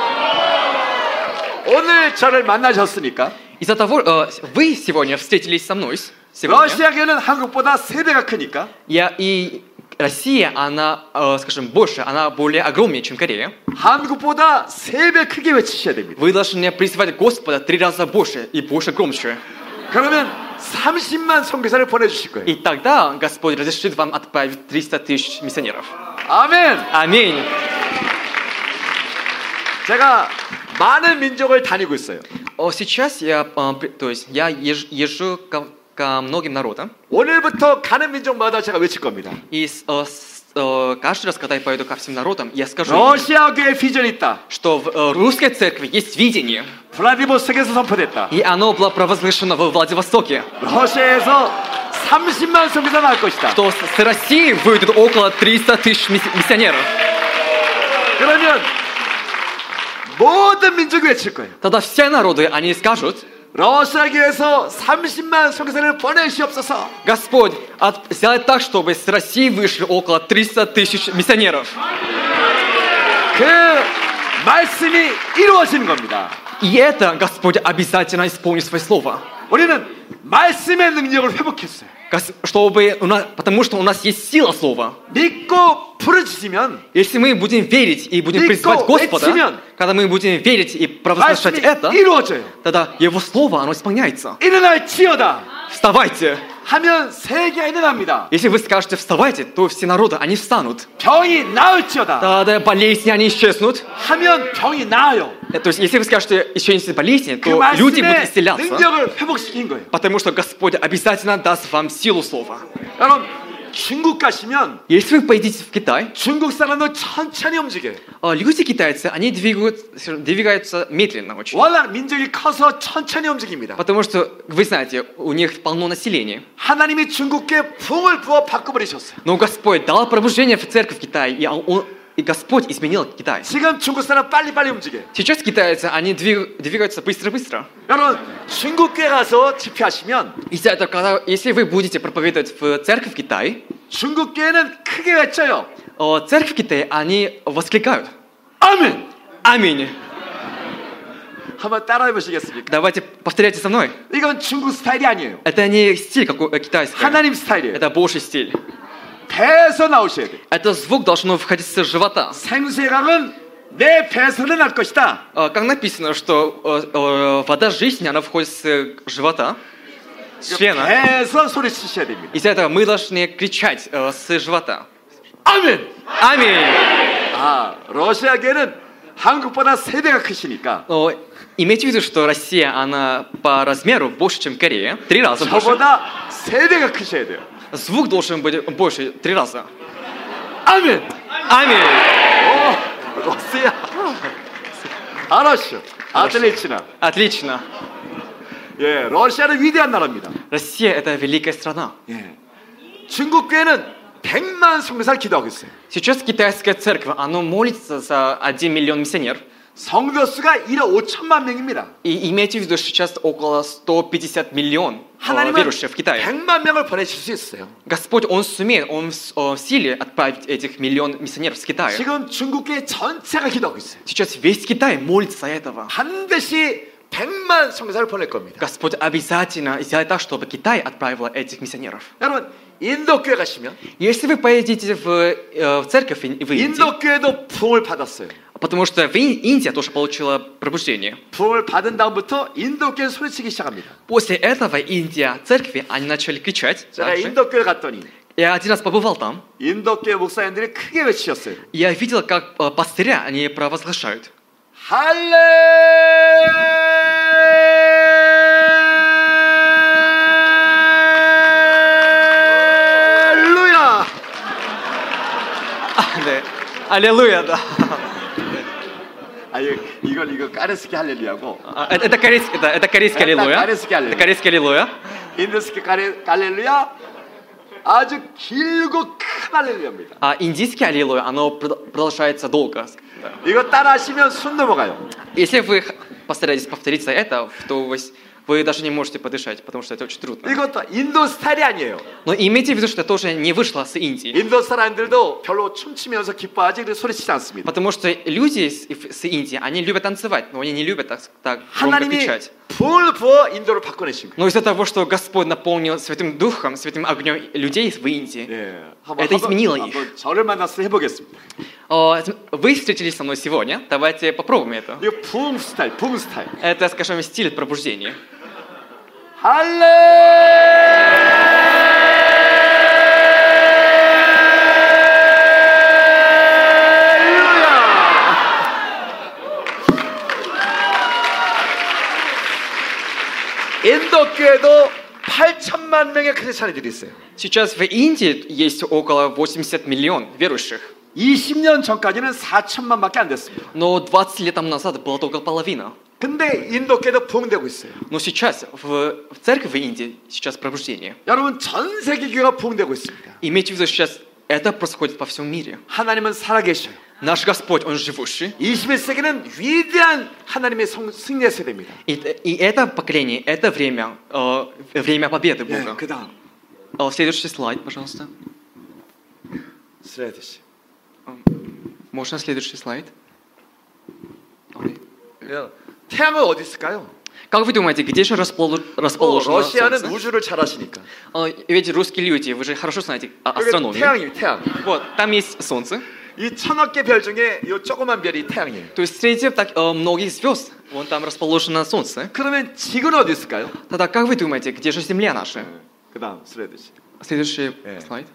오늘 저를 만나셨으니까. Из-за того, вы сегодня встретились со мной. 러시아교회는 한국보다 3배가 크니까. И Россия, она, скажем, больше, она более огромнее, чем Корея. 한국보다 3배 크게 외치셔야 됩니다. Вы должны призывать Господа 3 раза больше и больше громче. 그러면 30만 선교사를 보내주실 거예요. И тогда Господь разрешит вам отправить 300 тысяч миссионеров. 아멘. Аминь. 제가 많은 민족을 다니고 있어요. Сейчас я езжу ко многим народам. 오늘부터 가는 민족마다 제가 외칠 겁니다. И каждый раз, когда я пойду ко всем народам, я скажу, 러시아 교회 비전이 있다. что в русской церкви есть видение. 블라디보스톡에서 선포됐다. И оно было провозглашено во Владивостоке. 러시아에서 30만 선교사 나올 것이다. Что с России выйдут около 300 тысяч миссионеров. 그러면 모든 민족이 외칠 거예요. Тогда все народы, они скажут, 러시아 교회에서 30만 선교사를 보내시옵소서. Господь, сделай так, чтобы с России вышли около 300 тысяч миссионеров. 그 말씀이 이루어지는 겁니다. И это Господь обязательно исполнит свое слово. 우리는 말씀의 능력을 회복했어요. Потому что у нас есть сила слова. 믿고 부르짖으면, если мы будем верить и будем призывать Господа, 외치면, когда мы будем верить и провозглашать это, 이루어져요. тогда Его слово, оно исполняется. 일어날지어다. Вставайте. 하면 세계가 일어납니다. Если вы скажете вставайте, то все народы, они встанут. 병이 나을지어다. Тогда болезни, они исчезнут. 하면 병이 на아요. То есть, если вы скажете, исчезнут болезни, то люди будут исцеляться. 능력을 회복시킨 거예요. Потому что Господь обязательно даст вам силу слова. 여러분, 중국 가시면, если вы поедете в Китай, 중국 사람은 천천히 움직여요. люди китайцы, они двигаются медленно очень. 워낙 민족이 커서 천천히 움직입니다. Потому что, вы знаете, у них полно населения. 하나님이 중국에 부흥을 부어 바꿔버리셨어요. Но Господь дал пробуждение в церковь в Китае, и Господь изменил Китай. 지금 중국 사람 빨리빨리 움직여요. Сейчас китайцы, они двигаются быстро-быстро. 여러분, 중국에 가서 집회하시면, если вы будете проповедовать в церковь в Китае, 중국 교회는 크게 외쳐요. церковь в Китае, они воскликают. 아멘. Аминь. 한번 따라해 보시겠습니까? Давайте повторяйте со мной. 이건 중국 스타일이 아니에요. Это не стиль какой китайский. 하나님 스타일이에요. Это Божий стиль. 배에서 나오셔야 돼. Это звук должно входить с живота. 생수강은 내 배에서는 날 것이다. Как написано, что вода жизни, она входит с живота, с члена. 배에서 소리치셔야 됩니다. Из-за этого мы должны кричать с живота. 아멘. Аминь. 러시아계는 한국보다 3배가 크시니까. Имейте в виду, что Россия, она по размеру больше, чем Корея. 3 раза больше. 저보다 3배가 크셔야 돼요. Звук должен быть больше, 3 раза. 아멘. Аминь. 러시아. 알았어. отлично. Отлично. 예, 러시아는 위대한 나라입니다. Россия это великая страна. 예. 중국 교회는 100만 선교사를 기도하고 있어요. Сейчас китайская церковь, она молится за 1 миллион миссионеров. 성도 수가 1억 5천만 명입니다. И имейте в виду, что сейчас около 150 миллионов верующих в Китае. 100만 명을 보내실 수 있어요. Господь, Он сумеет, Он в силе отправить этих миллион миссионеров с Китая. 지금 중국계 전체가 기도하고 있어요. Сейчас весь Китай молится этого. 반드시 100만 선교사를 보낼 겁니다. Господь обязательно сделает так, чтобы Китай отправил этих миссионеров. 여러분, 인도 교회 가시면, если вы поедете в церковь в Индии, 인도 교회도 부흥을 받았어요. Потому что Индия тоже получила пробуждение. 부흥을 받은 다음부터 인도 교회 소리치기 시작합니다. После этого Индия, церкви, они начали кричать. 제가 인도 교회 갔더니, я один раз побывал там. 인도 교회 목사님들이 크게 외치셨어요. Я видел, как пастыря они провозглашают. 할렐루야. 네, 할렐루야, да. 이거 까르스키 할렐루야고. Это корейский аллилуйя. Это корейский аллилуйя. 인도스키 할렐루야 아주 길고 큰 할렐루야입니다. А индийский аллилуйя, оно продолжается долго. 이거 따라하시면 숨 넘어가요. Если вы постараетесь повторить это, то вы даже не можете подышать, потому что это очень трудно. 이것도 인도 스타일이 아니에요. Но имейте в виду, что это тоже не вышло с Индии. 인도 사람들도 별로 춤추면서 기뻐하지 그래서 소리치지 않습니다. Потому что люди с Индии, они любят танцевать, но они не любят так громко кричать. 불 부어 인도를 바꿔내신 거예요. Но из-за того, что Господь наполнил Святым Духом, Святым огнем людей в Индии, это изменило их. 저를 만나서 해보겠습니다. Вы встретились со мной сегодня, давайте попробуем это. 이거 붕 스타일. Это, скажем, стиль пробуждения. 인도 교회도 8천만 명의 크리스찬들이 있어요. Сейчас в Индии есть около 80 миллионов верующих. 20년 전까지는 4천만밖에 안 됐습니다. Но 20 лет назад было только половина. 근데 인도 교회도 부흥되고 있어요. Но сейчас в церкви в Индии сейчас пробуждение. 여러분 전 세계 교회가 부흥되고 있습니다. Имейте в виду, сейчас это происходит по всему миру. 하나님은 살아계셔요. Наш Господь, Он живущий. 21세기는 위대한 하나님의 승리의 세대입니다. И это поколение, это время победы Бога. 그다음. Следующий слайд, пожалуйста. Следующий. Можно следующий слайд? 태양은 어디 있을까요? Как вы думаете, где же расположено 러시아는 Солнце? 우주를 잘 아시니까. Ведь русские люди, вы же хорошо знаете астрономию. 태양. Вот, там есть Солнце. 이 1000억 개 별 중에 이 조그만 별이 태양이에요. То есть среди многих звезд, вон там расположено Солнце. 그러면 지구는 어디 있을까요? Тогда как вы думаете, где же Земля наша? 그다음 следующий. Следующий слайд.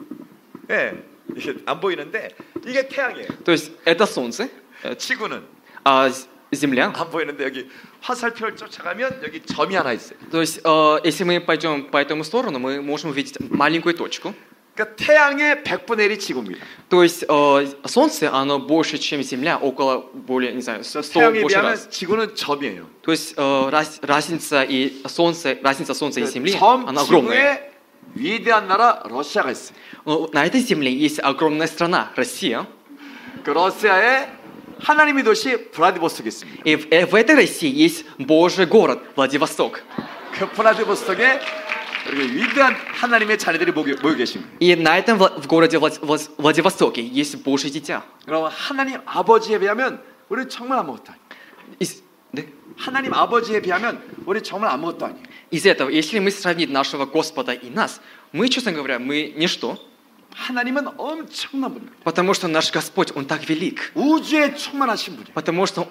이게 안 보이는데 이게 태양이에요. То есть это Солнце. 지구는 Земля. 안 보이는데 여기 화살표를 쫓아가면 여기 점이 하나 있어요. То есть если мы пойдем по этому сторону, мы можем увидеть маленькую точку. 그러니까 태양의 100분의 1이 지구입니다. То есть Солнце, оно больше, чем Земля, около более, не знаю, 100 больше раз. 지구는 점이에요. То есть разница Солнца и Земли, она огромная. 위대한 나라 러시아가 있어요. На этой земле есть огромная страна, Россия. 그 러시아에 하나님의 도시 블라디보스톡이 있습니다. И в этой России есть Божий город, Владивосток. 그 블라디보스톡에 위대한 하나님의 자녀들이 모여 계십니다. И на этом в городе Владивостоке есть Божье дитя. 그럼 하나님 아버지에 비하면 우리 정말 아무것도 아니에요. 네? 하나님 아버지에 비하면 우리 정말 아무것도 아니에요. Из этого, если мы сравним нашего Господа и нас, мы, честно говоря, мы ничто. 하나님은 엄청난 분입니다. Потому что наш Господь, Он так велик. 우주에 충만하신 분이에요. Потому что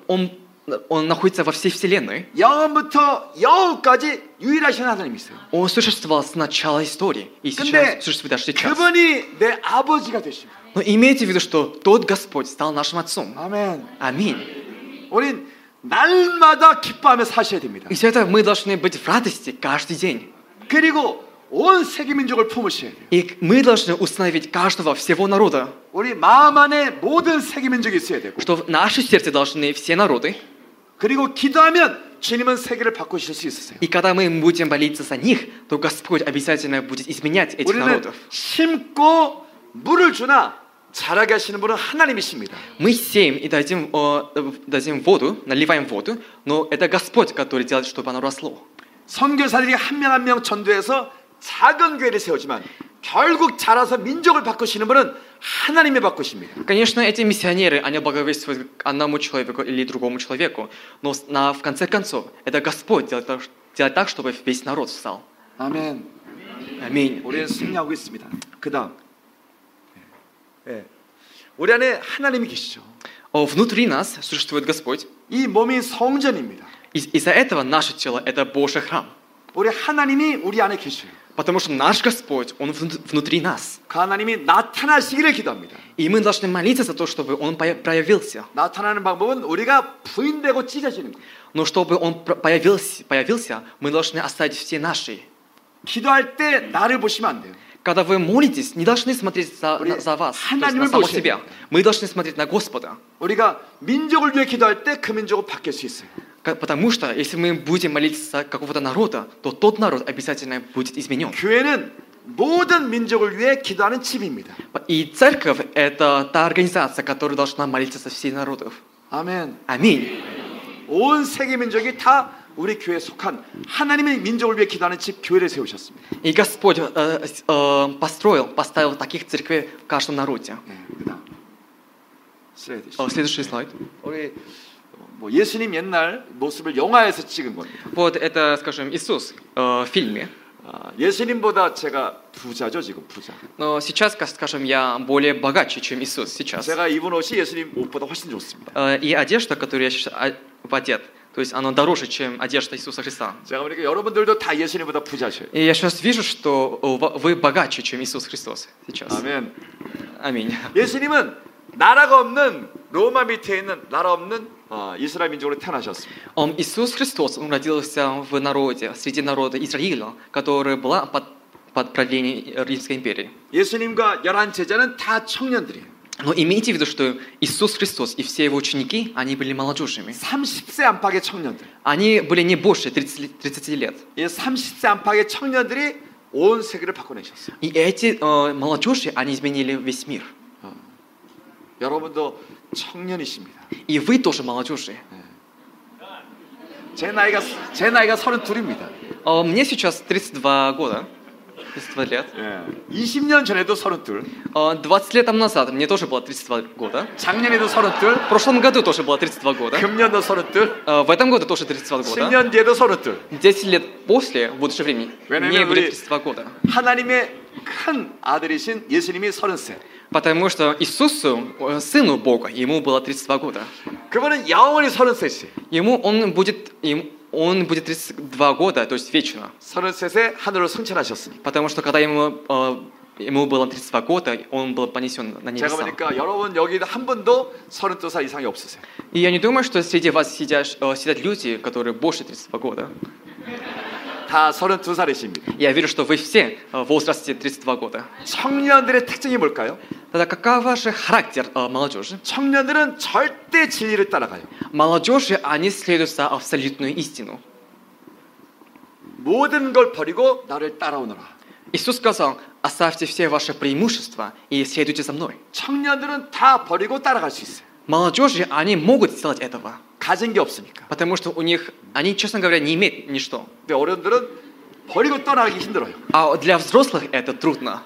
Он находится во всей вселенной. 영원부터 영원까지 유일하신 하나님이 있어요. Он существовал с начала истории и сейчас существует даже сейчас. 그분이 내 아버지가 되십니다. Но имейте в виду, что тот Господь стал нашим отцом. 아멘. Аминь. 우린 날마다 기뻐하며 사셔야 됩니다. Из-за этого мы должны быть в радости каждый день. 그리고 온 세계 민족을 품으셔야 돼요. И мы должны установить каждого всего народа. 우리 마음 안에 모든 세계 민족이 있어야 되고. Что в наше сердце должны все народы. 그리고 기도하면 주님은 세계를 바꾸실 수 있으세요. И когда мы будем молиться за них, то Господь обязательно будет изменять этих народов. 심고 물을 주나 자라게 하시는 분은 하나님이십니다. Мы сеем и дадим воду, наливаем воду, но это Господь, который делает, чтобы оно росло. 선교사들이 한 명 한 명 전도해서 작은 교회를 세우지만 결국 자라서 민족을 바꾸시는 분은 하나님이 바꾸십니다. Конечно, эти миссионеры, они благовествуют одному человеку или другому человеку, но в конце концов, это Господь делает так, чтобы весь народ встал. 아멘. Аминь. 우리는 승리하고 있습니다. 그다음, 우리 안에 하나님이 계시죠. Внутри нас существует Господь. 이 몸이 성전입니다. Из-за этого наше тело это Божий храм. 우리 하나님이 우리 안에 계셔요. Потому что наш Господь, Он внутри нас. 그 하나님이 나타나시기를 기도합니다. И мы должны молиться за то, чтобы Он проявился. 나타나는 방법은 우리가 부인되고 찢어지는 거예요. Но чтобы Он появился, мы должны оставить все наши. 기도할 때 나를 보시면 안 돼요. Когда вы молитесь, не должны смотреть за вас, на самого себя. Мы должны смотреть на Господа. 우리가 민족을 위해 기도할 때 그 민족은 바뀔 수 있어요. Потому что если мы будем молиться за какого-то народа, то тот народ обязательно будет изменен. 교회는 모든 민족을 위해 기도하는 집입니다. И церковь – это та организация, которая должна молиться за всех народов. 아멘. Аминь. 온 세계 민족이 다 우리 교회에 속한 하나님의 민족을 위해 기도하는 집 교회를 세우셨습니다. И Господь поставил таких церквей в каждом народе. Следующий слайд. 우리 뭐 예수님 옛날 모습을 영화에서 찍은 겁니다. Вот это, скажем, Иисус в фильме. 예수님보다 제가 부자죠 지금 부자. Но сейчас, скажем, я более богаче, чем Иисус сейчас. 제가 입은 옷이 예수님 옷보다 훨씬 좋습니다. И одежда, которую я сейчас одет, то есть она дороже, чем одежда Иисуса Христа. 제가 보니까 여러분들도 다 예수님보다 부자셔요. И я сейчас вижу, что вы богаче, чем Иисус Христос сейчас. 아멘. Аминь. 예수님은 나라가 없는 로마 밑에 있는 나라 없는 이스라엘 민족으로 태어나셨습니다. Иисус Христос, он родился в народе, среди народа Израиля, которая была под правлением Римской империи. 예수님과 11 제자는 다 청년들이에요. Но имейте в виду, что Иисус Христос и все его ученики, они были молодежами. 30세 안팎의 청년들. Они были не больше 30 лет. 이 30세 안팎의 청년들이 온 세계를 바꿔내셨어요. И эти молодежи, они изменили весь мир. 여러분도 청년이십니다. И вы тоже молодежи. 제 나이가 32입니다. Мне сейчас 32 года. 32 лет. 20년 전에도 32. 20 лет назад мне тоже было 32 года. 작년에도 32. В прошлом году тоже было 32 года. 금년도 32. В этом году тоже 32 года. 10년 뒤에도 32. 10 лет после, в будущем времени, мне будет 32 года. 하나님의 큰 아들이신 예수님이 33. Потому что Иисусу, Сыну Бога, ему было 32 года. 그분은 영원히 33. Он будет 32 года, то есть вечно. 33세 하늘로 승천하셨으니. Потому что когда ему было 32 года, он был понесен на небеса. 제가 보니까 여러분 여기 한 분도 32살 이상이 없으세요. И я не думаю, что среди вас сидят люди, которые больше 32 года. 다 32살이십니다. Я верю, что вы все в возрасте 32 года. 청년들의 특징이 뭘까요? Тогда каков ваш характер молодежи? 청년들은 절대 진리를 따라가요. Молодежи, они следуют за абсолютную истину. 모든 걸 버리고 나를 따라오너라. Иисус сказал: оставьте все ваши преимущества и следуйте за мной. 청년들은 다 버리고 따라갈 수 있어요. Молодежи, они могут сделать этого. 가진 게 없으니까. Потому что у них, они, честно говоря, не имеют ничто. 근데 어른들은 버리고 떠나기 힘들어요. А для взрослых это трудно.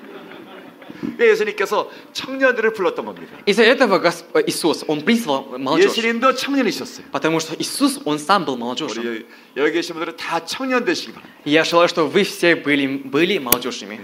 예수님께서 청년들을 불렀던 겁니다. Из-за этого Иисус, Он призвал молодежь. 예수님도 청년이셨어요. Потому что Иисус, Он сам был молодежью. 여기 계신 분들은 다 청년 되시기 바랍니다. Я желаю, чтобы вы все были молодежными.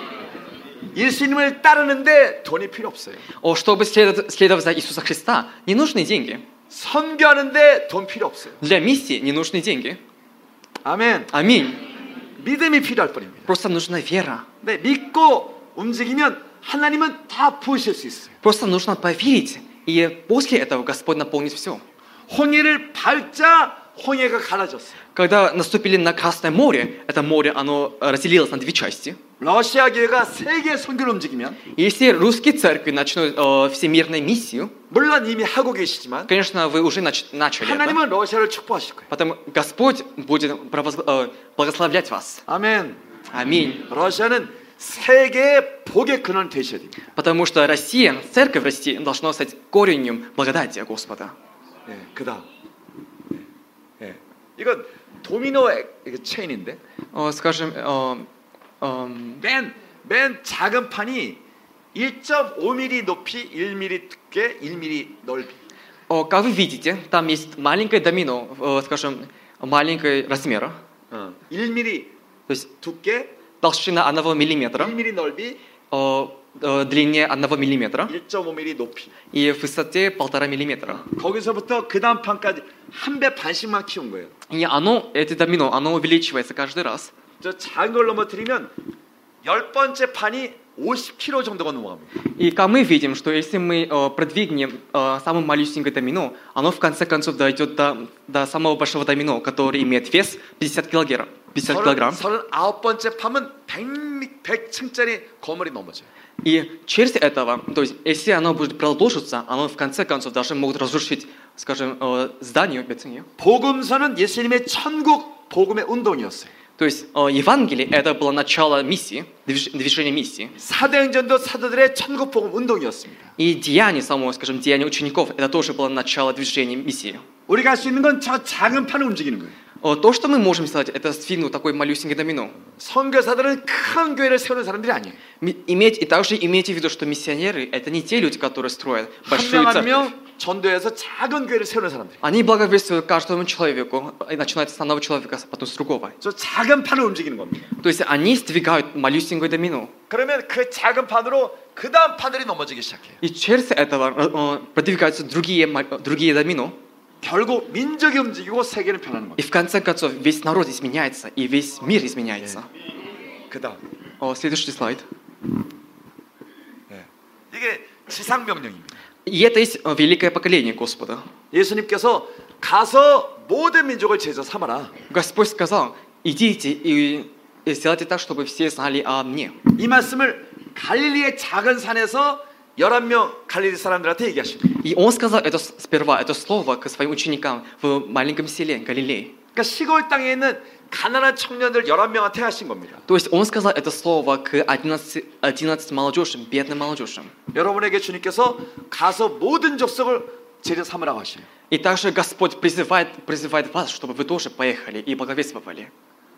예수님을 따르는데 돈이 필요 없어요. Чтобы следовать за Иисуса Христа, не нужны деньги. 선교하는데 돈 필요 없어요. Для миссии не нужны деньги. 아멘. Аминь. 믿음이 필요할 뿐입니다. Просто нужна вера. 네, 믿고 움직이면 하나님은 다 부으실 수 있어요. Просто нужно поверить, и после этого Господь наполнит все. 홍해를 밟자 홍해가 갈라졌어요. Когда наступили на Красное море, это море, оно разделилось на две части. 러시아 교회가 세계 선교를 움직이면, если русские церкви начнут всемирную миссию, 물론 이미 하고 계시지만, конечно, вы уже начали 하나님은 это. 러시아를 축복하실 거예요. Потому Господь будет благословлять вас. 아멘. Аминь. 러시아는 세계의 복의 근원 되셔야 됩니다. Потому что Россия, церковь России должна стать коренем благодати Господа. 네, 그다음. 네. 이건 도미노 체인인데. Скажем, 맨 작은 판이 1.5mm 높이, 1mm 두께, 1mm 넓이. Как вы видите, там есть маленькое домино, скажем, маленького размера. 1mm То есть 두께, толщина 1 миллиметра, 1mm 넓이, длине 1 миллиметра 1.5mm 높이. и в высоте 1,5 миллиметра. 거기서부터 그 다음 판까지 한 배 반씩만 키운 거예요. И это домино, оно увеличивается каждый раз. 저 작은 걸 넘어뜨리면 10번째 판이 50kg 정도가 넘어갑니다. И как мы видим, что если мы продвигнем самое малюсенькое домино, оно в конце концов дойдет до самого большого домино, который имеет вес 50 килограмм. 39번째 판은 100층짜리 건물이 넘어져요. И через этого, то есть если оно будет продолжиться, оно в конце концов даже могут разрушить, скажем, здание. 복음서는 예수님의 천국 복음의 운동이었어요. То есть Евангелие это было начало миссии, движения миссии. 사도행전도 사도들의 천국 복음 운동이었습니다. И деяние само, скажем, деяние учеников, это тоже было начало движения миссии. 우리가 할 수 있는 건 저 작은 판을 움직이는 거예요. То, что мы можем сделать, это сдвинуть такой малюсенький домино. 선교사들은 큰 교회를 세우는 사람들이 아니에요. И также имейте в виду, что миссионеры это не те люди, которые строят большие церкви. 전도해서 작은 교회를 세우는 사람들. Они благовествуют каждому человеку, и начинают с одного человека, потом с другого. 저 작은 판을 움직이는 겁니다. То есть они сдвигают малюсенькое домино. 그러면 그 작은 판으로 그 다음 판들이 넘어지기 시작해요. И через этого продвигаются другие домино. 결국 민족이 움직이고 세계는 변하는 겁니다. И в конце концов весь народ изменяется, и весь мир изменяется. 그다음. Следующий слайд. 이게 지상 명령입니다. И это есть великое поколение Господа. 예수님께서 가서 모든 민족을 제자 삼아라. Господь сказал: идите и сделайте так, чтобы все знали о мне. 이 말씀을 갈릴리의 작은 산에서 11명 갈릴리 사람들한테 얘기하십니다. И он сказал это сперва, это слово к своим ученикам в маленьком селе Галилеи. 그러니까 시골 땅에 있는 가난한 청년들 11명한테 하신 겁니다. То есть он сказал это слово к 11 молодежям, бедным молодежям. 여러분에게 주님께서 가서 모든 족속을 제자 삼으라고 하셔요. И также Господь призывает вас, чтобы вы тоже поехали и благовествовали.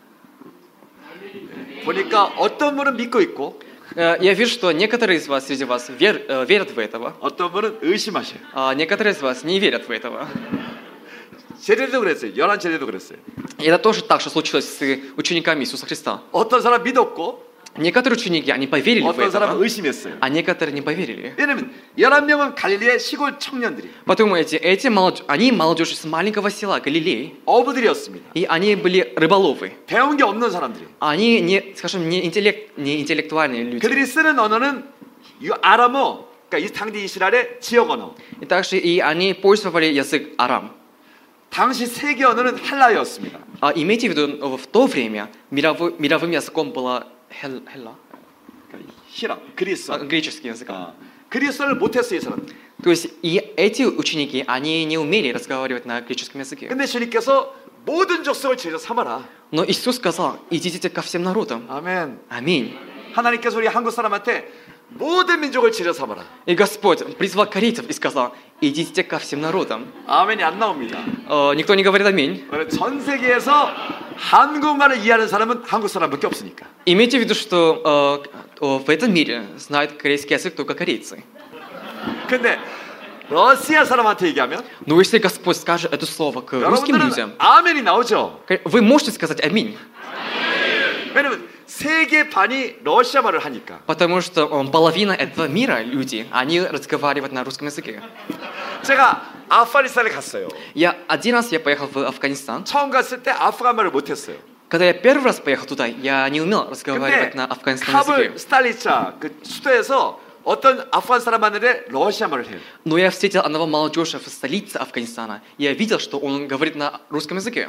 보니까 어떤 분은 믿고 있고 Я вижу, что некоторые из вас среди вас верят в этого. 어떤 분은 의심하셔요. А некоторые из вас не верят в этого. 제자도 그랬어요. 11제자도 그랬어요. И это тоже так, что случилось с учениками Иисуса Христа. 어떤 사람 믿었고 некоторые ученики, они поверили в 어떤 사람은 это, 의심했어요. а некоторые не поверили. 왜냐면 11명은 갈릴리의 시골 청년들이 Подумайте, они молодежь с маленького села Галилеи. 어부들이었습니다. И они были рыболовы. 배운 게 없는 사람들이. Они не интеллектуальные люди. 그들이 쓰는 언어는 아람어, 그러니까 이 당시 이스라엘의 지역 언어. И также они пользовали язык арам. 당시 세계 언어는 헬라어였습니다. Имейте в виду, в то время мировым языком была 헬라. 히라, 그리스. Греческий язык. 그리스어를 못했어요, 이 사람. То есть и эти ученики, они не умели разговаривать на греческом языке. 근데 주님께서 모든 족속을 제자 삼아라. Но Иисус сказал: идите ко всем народам. 아멘. Аминь. 하나님께서 우리 한국 사람한테 모든 민족을 제자 삼아라. И Господь призвал коринфян и сказал: идите ко всем народам. 아멘이 안 나옵니다. Никто не говорит аминь. 전 세계에서 한국말을 이해하는 사람은 한국 사람밖에 없으니까. Имейте в виду, что в этом мире знают корейский язык только корейцы. 근데 러시아 사람한테 얘기하면 Но если Господь скажет это слово к русским людям, 아멘이 나오죠. вы можете сказать аминь. 왜냐면 세계 반이 러시아 말을 하니까. Потому что половина этого мира люди, они разговаривают на русском языке. 제가 아프가니스탄에 갔어요. Один раз я поехал в Афганистан. 처음 갔을 때 아프간 말을 못했어요. Когда я первый раз поехал туда, я не умел разговаривать на афганском языке. 카불 스탈리차 그 수도에서 어떤 아프간 사람 만났는데 러시아 말을 해요. Но я встретил одного молодежи в столице Афганистана. Я видел, что он говорит на русском языке.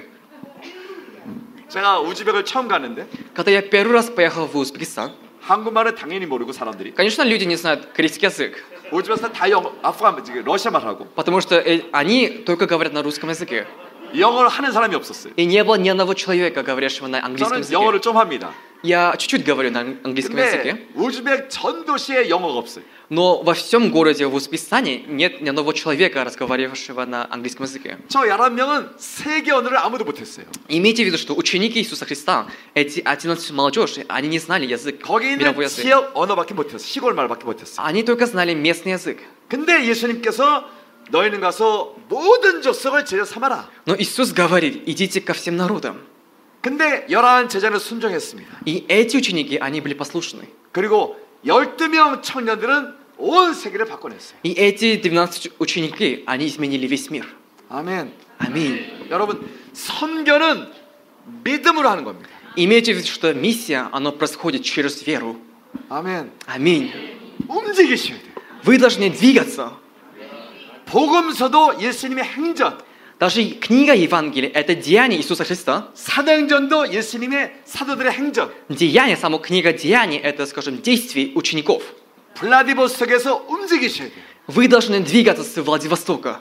제가 우즈벡을 처음 갔는데 Когда я первый раз поехал в Узбекистан, 한국말은 당연히 모르고 사람들이. Конечно, люди не знают корейский язык. 우즈벡에서 다 아프간 러시아 말하고. Потому что они только говорят на русском языке. 영어를 하는 사람이 없었어요. И не было ни одного человека, говорящего на английском 저는 языке. 영어를 좀 합니다. Я чуть-чуть говорю на английском языке. 우즈벡 전 도시에 영어가 없어요. Но во всем городе в Узбекистане нет ни одного человека, разговаривающего на английском языке. 저 11명은 세계 언어를 아무도 못했어요. Имейте в виду, что ученики Иисуса Христа, эти 11 молодежи, они не знали язык, 거기 мировой 있는 язык. 지역 언어밖에 못했어요. 시골 말밖에 못했어요. Они только знали местный язык. 근데 예수님께서 너희는 가서 모든 족속을 제자 삼아라. Но Иисус говорит: идите ко всем народам. 근데 11 제자는 순종했습니다. И эти ученики, они были послушны. 그리고 12명 청년들은 온 세계를 바꿔냈어요. И эти 12 ученики, они изменили весь мир. 아멘. Аминь. 여러분, 선교는 믿음으로 하는 겁니다. Имейте в виду, что миссия, она происходит через веру. 아멘. Аминь. 움직이셔야 돼요. Вы должны двигаться. 복음서도 예수님의 행전. Даже книга Евангелия – это деяние Иисуса Христа. 사도행전도 예수님의 사도들의 행전. Деяние, сама книга Деяний – это, скажем, действия учеников. 블라디보스톡에서 움직이셔야 돼요. Вы должны двигаться с Владивостока.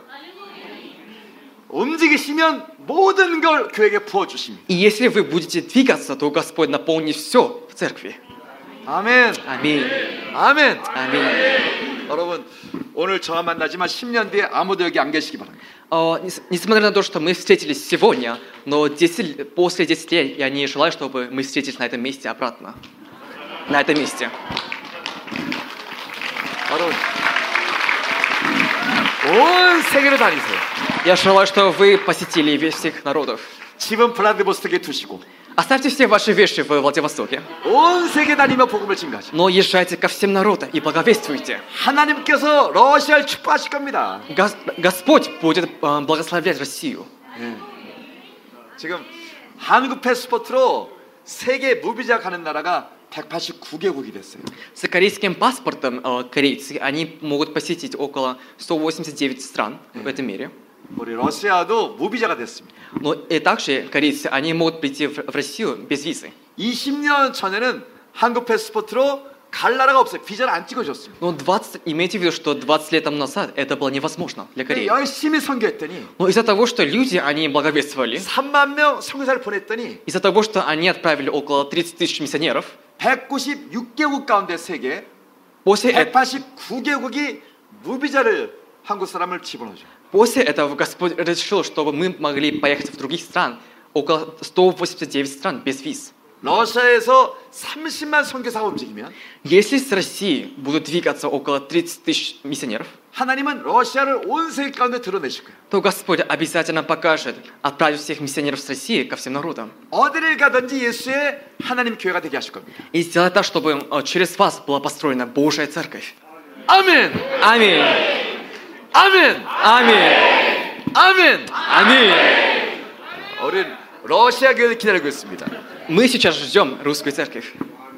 움직이시면 모든 걸 교회에 부어주십니다. И если вы будете двигаться, то Господь наполнит все в церкви. 아멘. Аминь. 아멘. Аминь. 여러분. 오늘 저와 만나지만 10년 뒤에 아무도 여기 안 계시기 바랍니다. Несмотря на то, что мы встретились сегодня, но после 10 лет я не желаю, чтобы мы встретились на этом месте обратно. На этом месте. 온 세계를 다니세요. Я желаю, что вы посетили весь всех народов. 집은 블라디보스토크에 두시고. Оставьте все ваши вещи в Владивостоке. 온 세계 다니며 복음을 증거하시고. Но езжайте ко всем народам и благовествуйте. 하나님께서 러시아를 축복하실 겁니다. Господь будет благословлять Россию. 지금 한국 패스포트로 세계 무비자 가는 나라가 189개국이 됐어요. С корейским паспортом корейцы они могут посетить около 189 стран в этом мире. 우리 러시아도 무비자가 됐습니다. Но и также корейцы они могут прийти в Россию без визы. 20년 전에는 한국 패스포트로 갈 나라가 없어요. 비자를 안 찍어줬습니다. Но имейте в виду, что 20 лет тому назад это было невозможно для Кореи. 열심히 선교했더니 Но из-за того, что люди они благовествовали, 3만 명 선교사를 보냈더니 из-за того, что они отправили около 30 тысяч миссионеров, 196개국 가운데 세계 после 189개국이 무비자를 한국 사람을 집어넣어줘. После этого Господь решил, чтобы мы могли поехать в других стран, около 189 стран без виз. 러시아에서 30만 선교사가 움직이면, если с России будут двигаться около 30 тысяч миссионеров, 하나님은 러시아를 온 세계 가운데 드러내실 거예요. то Господь обязательно покажет, отправит всех миссионеров с России ко всем народам. 어디를 가든지 예수의 하나님 교회가 되게 하실 겁니다. И сделать так, чтобы через вас была построена Божья церковь. 아멘. 아멘. 아멘. 아멘. 아멘. 아멘. 우리 러시아 교회를 기다리고 있습니다. Мы сейчас ждем русскую церковь.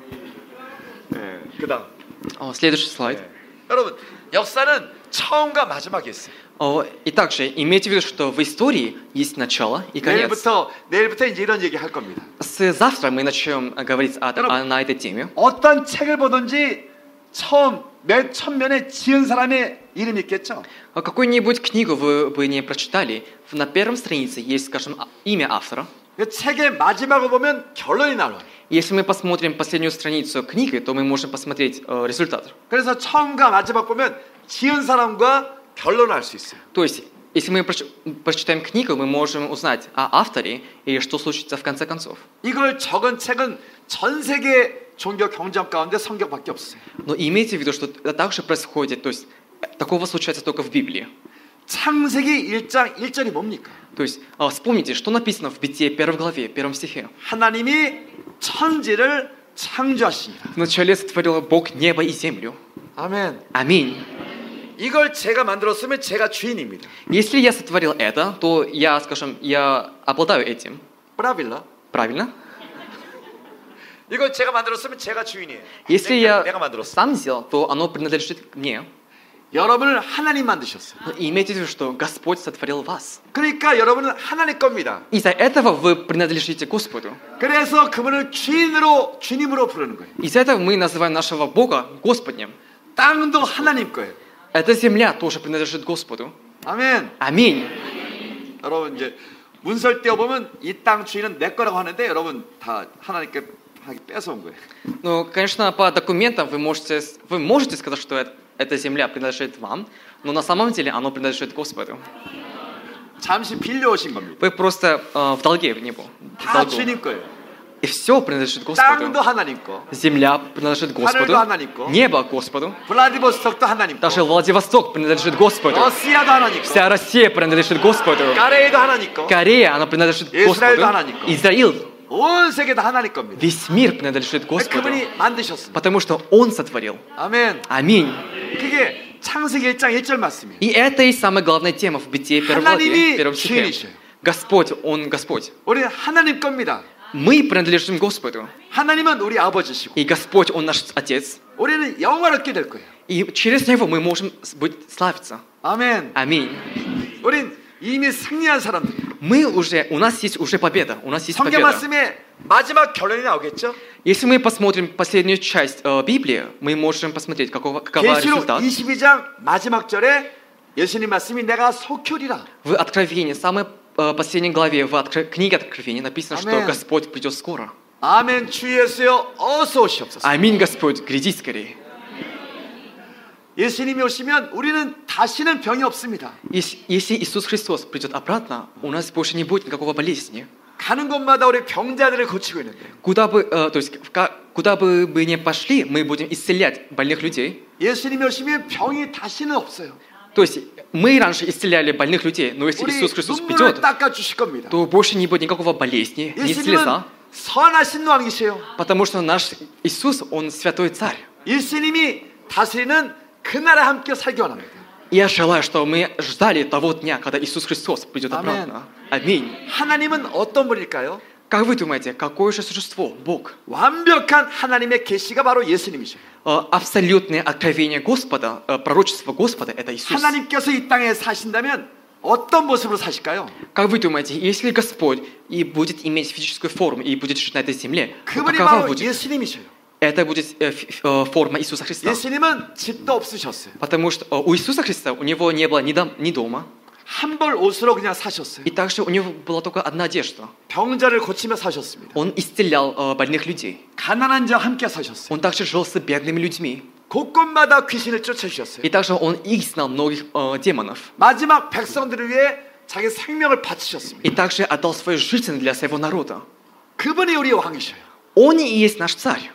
네, 그다음. Следующий слайд. 네. 여러분, 역사는 처음과 마지막이 있어요. И также имейте в виду, что в истории есть начало и конец. 내일부터 이제 이런 얘기 할 겁니다. Завтра мы начнем говорить на этой теме. 어떤 책을 보든지 처음 몇 천면에 지은 사람의 이름이 있겠죠. Какую-нибудь книгу вы не прочитали, на первом странице есть, скажем, имя автора. 그 책의 마지막을 보면 결론이 나와요. Если мы посмотрим последнюю страницу книги, то мы можем посмотреть результат. 그래서 처음과 마지막 보면 지은 사람과 결론을 알 수 있어요. То есть, если мы прочитаем книгу, мы можем узнать о авторе и что случится в конце концов. 이걸 적은 책은 전 세계 종교 경전 가운데 성경밖에 없어요. Но имейте в виду, что это также происходит, то есть такого случается только в Библии. 창세기 1장 1절이 뭡니까? То есть вспомните, что написано в Бытие 1 главе, 1 стихе. 하나님이 천지를 창조하시니라. Вначале сотворил Бог небо и землю. 아멘. Аминь. 이걸 제가 만들었으면 제가 주인입니다. Если я сотворил это, то я, скажем, я обладаю этим. Правильно? Правильно? 이걸 제가 만들었으면 제가 주인이에요. Если я 내가 만들었어. сам сделал, то оно принадлежит мне. 여러분을 하나님 만드셨어요. Но имейте в виду, что Господь сотворил вас. 그러니까 여러분은 하나님 겁니다. Из-за этого вы принадлежите Господу. 그래서 그분을 주님으로 부르는 거예요. Из-за этого мы называем нашего Бога Господнем. 땅도 하나님 거예요. Эта земля тоже принадлежит Господу. 아멘. Аминь. 여러분 이제 문설 떼어 보면 이 땅 주인은 내 거라고 하는데 여러분 다 하나님께 뺏어온 거예요. Ну, конечно, по документам вы можете сказать, что эта земля принадлежит вам, но на самом деле оно принадлежит Господу. 잠시 빌려오신 겁니다. Вы просто в долге в него. 다 주님 거예요. И все принадлежит Господу. 땅도 하나님 거. Земля принадлежит Господу. 하늘도 하나님 거. Небо Господу. 블라디보스톡도 하나님 거. Даже Владивосток принадлежит Господу. 러시아도 하나님 거. Вся Россия принадлежит Господу. 까레이도 하나님 거. Корея, она принадлежит Господу. 이스라엘도 하나님 거. Израиль. 온 세계 다 하나님 겁니다. Весь мир принадлежит Господу. 그분이 만드셨습니다. Потому что Он сотворил. 아멘. Аминь. 그게 창세기 1장 1절 말씀이에요. И это и самая главная тема в Бытие 1 главе, 1 стихе. Господь, Он Господь. 우리는 하나님 겁니다. Мы принадлежим Господу. 하나님은 우리 아버지시고. И Господь, Он наш Отец. 우리는 영화롭게 될 거예요. И через Него мы можем славиться. 아멘. Аминь. 우린 이미 승리한 사람들. У нас есть уже победа. У нас есть 성경 победа. 말씀에 마지막 결론이 나오겠죠? Если мы посмотрим последнюю часть Библии, мы можем посмотреть, какова результат. 22장 마지막 절에 예수님 말씀이 내가 속혈이라. В Откровении, самой последней главе в книге Откровения написано, Аминь. что Господь придет скоро. 아멘. 주 예수여 어서 오시옵소서. Аминь, Господь, гряди скорее. 예수님이 오시면 우리는 다시는 병이 없습니다. Если Иисус Христос придет обратно, у нас больше не будет никакого болезни. 가는 곳마다 우리 병자들을 고치고 있는데. Куда бы мы ни пошли, мы будем исцелять больных людей. 예수님이 오시면 병이 다시는 없어요. То есть мы раньше исцеляли больных людей, но если Иисус Христос придет, то больше не будет никакого болезни, ни слеза. 선하신 왕이세요. Потому что наш Иисус, Он святой царь. 예수님이 다스리는 그날에 함께 살기 원합니다. Я желаю, что мы ждали того дня, когда Иисус Христос придет обратно. Аминь. 하나님은 어떤 분일까요? Как вы думаете, какое же существо Бог? 완벽한 하나님의 계시가 바로 예수님이셔요. Абсолютное откровение Господа, пророчество Господа, это Иисус. 하나님께서 이 땅에 사신다면 어떤 모습으로 사실까요? Как вы думаете, если Господь и будет иметь физическую форму и будет жить на этой земле, 그분이 какова 바로 будет? 예수님이셔요. Это будет форма Иисуса Христа. 예수님은 집도 없으셨어요. Потому что у Иисуса Христа у него не было ни дома. 한 벌 옷으로 그냥 사셨어요. И также у него была только одна одежда. 병자를 고치며 사셨습니다. Он исцелял больных людей. 가난한 자와 함께 사셨어요. Он также жил с бедными людьми. 곳곳마다 귀신을 쫓아주셨어요. И также он изгнал многих демонов. 마지막 백성들을 위해 자기 생명을 바치셨습니다. И также отдал свою жизнь для своего народа. 그분이 우리의 왕이셔요. Он и есть наш царь.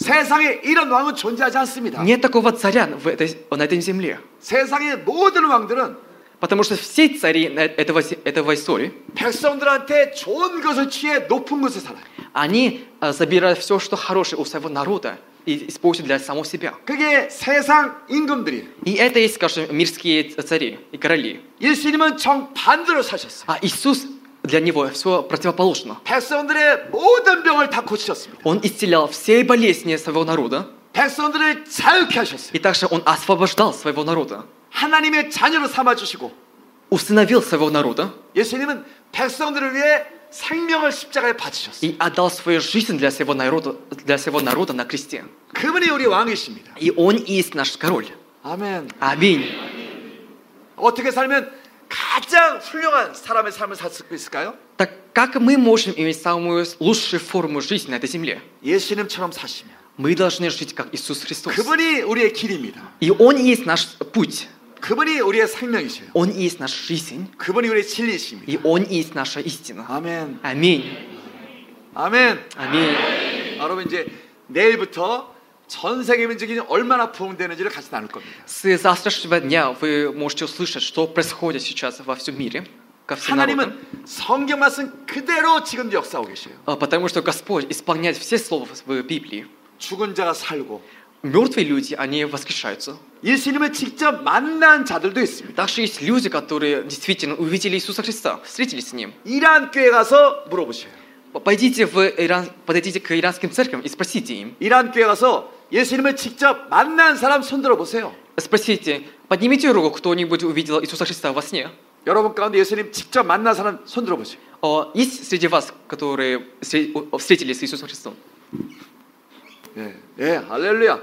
세상에 이런 왕은 존재하지 않습니다. Нет такого царя на этой земле. 세상의 모든 왕들은 Потому что все цари этого истории, 백성들한테 좋은 것을 취해 높은 곳에 살아요. они забирают все, что хорошее у своего народа и используют для самого себя. 그게 세상 임금들이에요. И это есть, скажем, мирские цари и короли. 예수님은 정반대로 사셨어요. А Иисус, для него все противоположно. 백성들의 모든 병을 다 고치셨습니다. Он исцелял все болезни своего народа. 백성들을 자유케 하셨어요. И также он освобождал своего народа. 하나님의 자녀로 삼아주시고 усыновил своего народа. 예수님은 백성들을 위해 생명을 십자가에 바치셨어요. И отдал свою жизнь для своего народа на кресте. 그분이 우리 왕이십니다. И он и есть наш король. 아멘. 아멘. 어떻게 살면 가장 훌륭한 사람의 삶을 살 수 있을까요? Так как мы можем иметь самую лучшую форму жизни на этой земле? 예수님처럼 사시면. Мы должны жить как Иисус Христос. 그분이 우리의 길입니다. И он и есть наш путь. 그분이 우리의 생명이셔요. Он и есть наша жизнь. 그분이 우리의 진리이십니다. И он и есть наша истина. 아멘. 아멘. 아멘. 아멘. 여러분 이제 내일부터 전 세계 민족이 얼마나 부흥되는지를 같이 나눌 겁니다. С завтрашнего дня вы можете услышать, что происходит сейчас во всем мире. 하나님은 성경 말씀 그대로 지금 역사하고 계셔요. Потому что Господь исполняет все слова в Библии. 죽은 자가 살고 Мертвые люди, они воскрешаются. 예수님을 직접 만난 자들도 있습니다. Также есть люди, которые действительно увидели Иисуса Христа, встретились с Ним. 이란 교회 가서 물어보셔요. Подойдите к иранским церквям и спросите им. 이란 교회 가서 예수님을 직접 만난 사람 손 들어 보세요. Спросите, поднимите руку, кто-нибудь увидел Иисуса Христа во сне. 여러분 가운데 예수님 직접 만난 사람 손 들어 보세요. Есть среди вас, которые встретились с Иисусом Христом? 예, 할렐루야.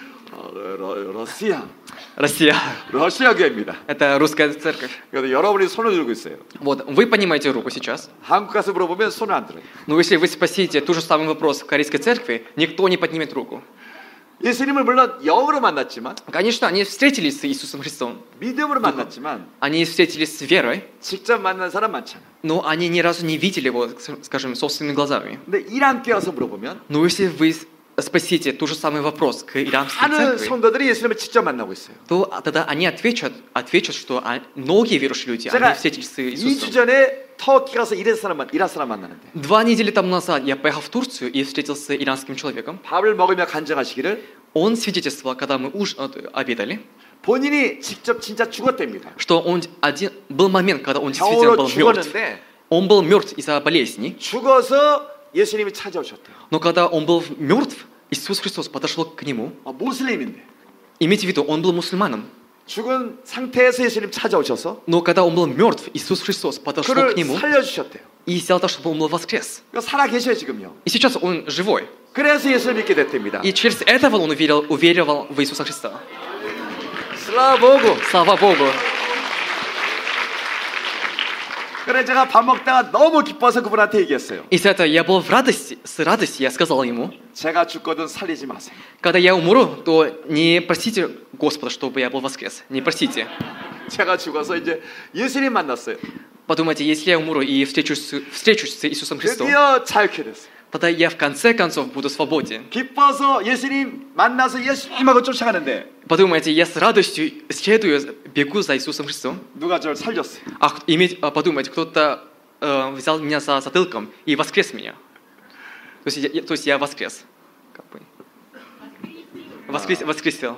러시아 교회입니다. Это русская церковь. 그래서 여러분이 손을 들고 있어요. Вот, вы поднимаете руку сейчас. 한국 가서 물어보면 손을 안 들어요. Но если вы спросите тот же самый вопрос в корейской церкви, никто не поднимет руку. 예수님을 물론 영으로 만났지만, конечно, они встретились с Иисусом Христом. 믿음으로 만났지만, они встретились с верой. 직접 만난 사람 많잖아. Но они ни разу не видели его, скажем, собственными глазами. 근데 이란 교회 와서 물어보면, но если вы спросите тот же самый вопрос к иранской церкви, 성도들이 예수님을 직접 만나고 있어요. то тогда они ответят, что многие верующие люди, они встретились с Иисусом. 2주 전에 터키 가서 이란 사람 만나는데. 2 недели тому назад я поехал в Турцию и встретился с иранским человеком. 밥을 먹으며 간증하시기를. Он свидетельствовал, когда мы обедали. 본인이 직접 진짜 죽었답니다. Что был момент, когда он действительно был мертв. Он был мертв из-за болезни. 죽어서 예수님이 찾아오셨대요. Но когда он был мертв, Иисус Христос подошел к нему. 모슬림인데. Имейте в виду, он был мусульманом. 죽은 상태에서 예수님 찾아오셔서. Но когда он был мертв, Иисус Христос подошел к нему. 살려주셨대요. И сделал так, чтобы он был воскрес. 살아 계셔요 지금요. И сейчас он живой. 그래서 예수를 믿게 됐답니다. И через этого он уверовал в Иисуса Христа. Слава Богу. Слава Богу. 그래 제가 밥 먹다가 너무 기뻐서 그분한테 얘기했어요. Из этого я был с радостью, я сказал ему, 제가 죽거든 살리지 마세요. когда я умру, то не просите Господа, чтобы я был воскрес. Не просите. 제가 죽어서 이제 예수님 만났어요. Подумайте, если я умру и встречусь с Иисусом Христом, 드디어 자유케 됐어요. тогда я в конце концов буду свободен. 기뻐서 예수님 만나서 예수님하고 쫓아가는데 Подумайте, я с радостью следую, бегу за Иисусом Христом. 누가 저를 살렸어요. Подумайте, кто-то взял меня за затылком и воскрес меня. То есть я воскрес. Воскресил.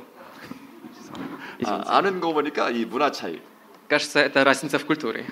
아는 거 보니까 이 문화 차이. Кажется, это разница в культуре.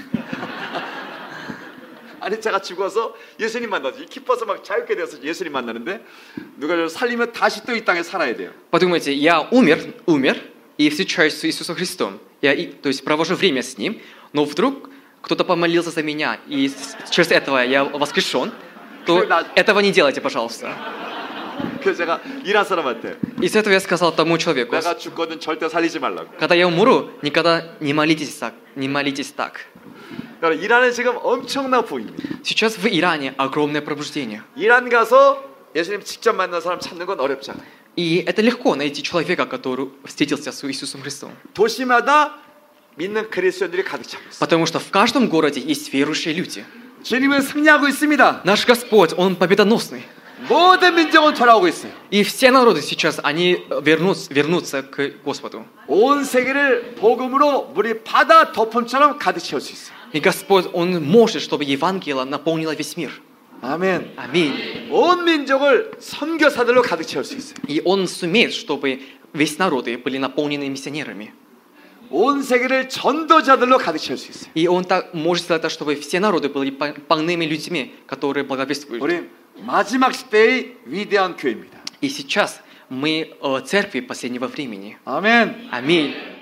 아니 제가 죽어서 예수님 만나지 기뻐서 막 자유케 되어서 예수님 만나는데 누가 저를 살리면 다시 또 이 땅에 살아야 돼요. Подумайте, я умер и встречаюсь с Иисусом Христом. То есть провожу время с Ним, но вдруг кто-то помолился за меня, и через этого я воскрешен, то этого не делайте, пожалуйста. 그래서 제가 이란 사람한테 Из этого я сказал тому человеку, 내가 죽거든 절대 살리지 말라고. когда я умру, никогда не молитесь так. 이란은 지금 엄청난 부입니다. Сейчас в Иране огромное пробуждение. 이란 가서 예수님 직접 만난 사람 찾는 건 어렵잖아요. И это легко найти человека, который встретился с Иисусом Христом. 도시마다 믿는 그리스도인들이 가득 차고 있어요. Потому что в каждом городе есть верующие люди. 주님은 승리하고 있습니다. Наш Господь, Он победоносный. 모든 민족은 돌아오고 있어요. И все народы сейчас, они вернутся к Господу. 온 세계를 복음으로 물이 바다 덮음처럼 가득 채울 수 있어요. И Господь, Он может, чтобы Евангелие наполнило весь мир. 아멘. Аминь. 온 민족을 선교사들로 가득 채울 수 있어요. И Он сумеет, чтобы весь народы были наполнены миссионерами. 온 세계를 전도자들로 가득 채울 수 있어요. И Он так может сделать так, чтобы все народы были полными людьми, которые благовествуют. 우리 마지막 시대의 위대한 교회입니다. И сейчас мы церкви последнего времени. 아멘. Аминь.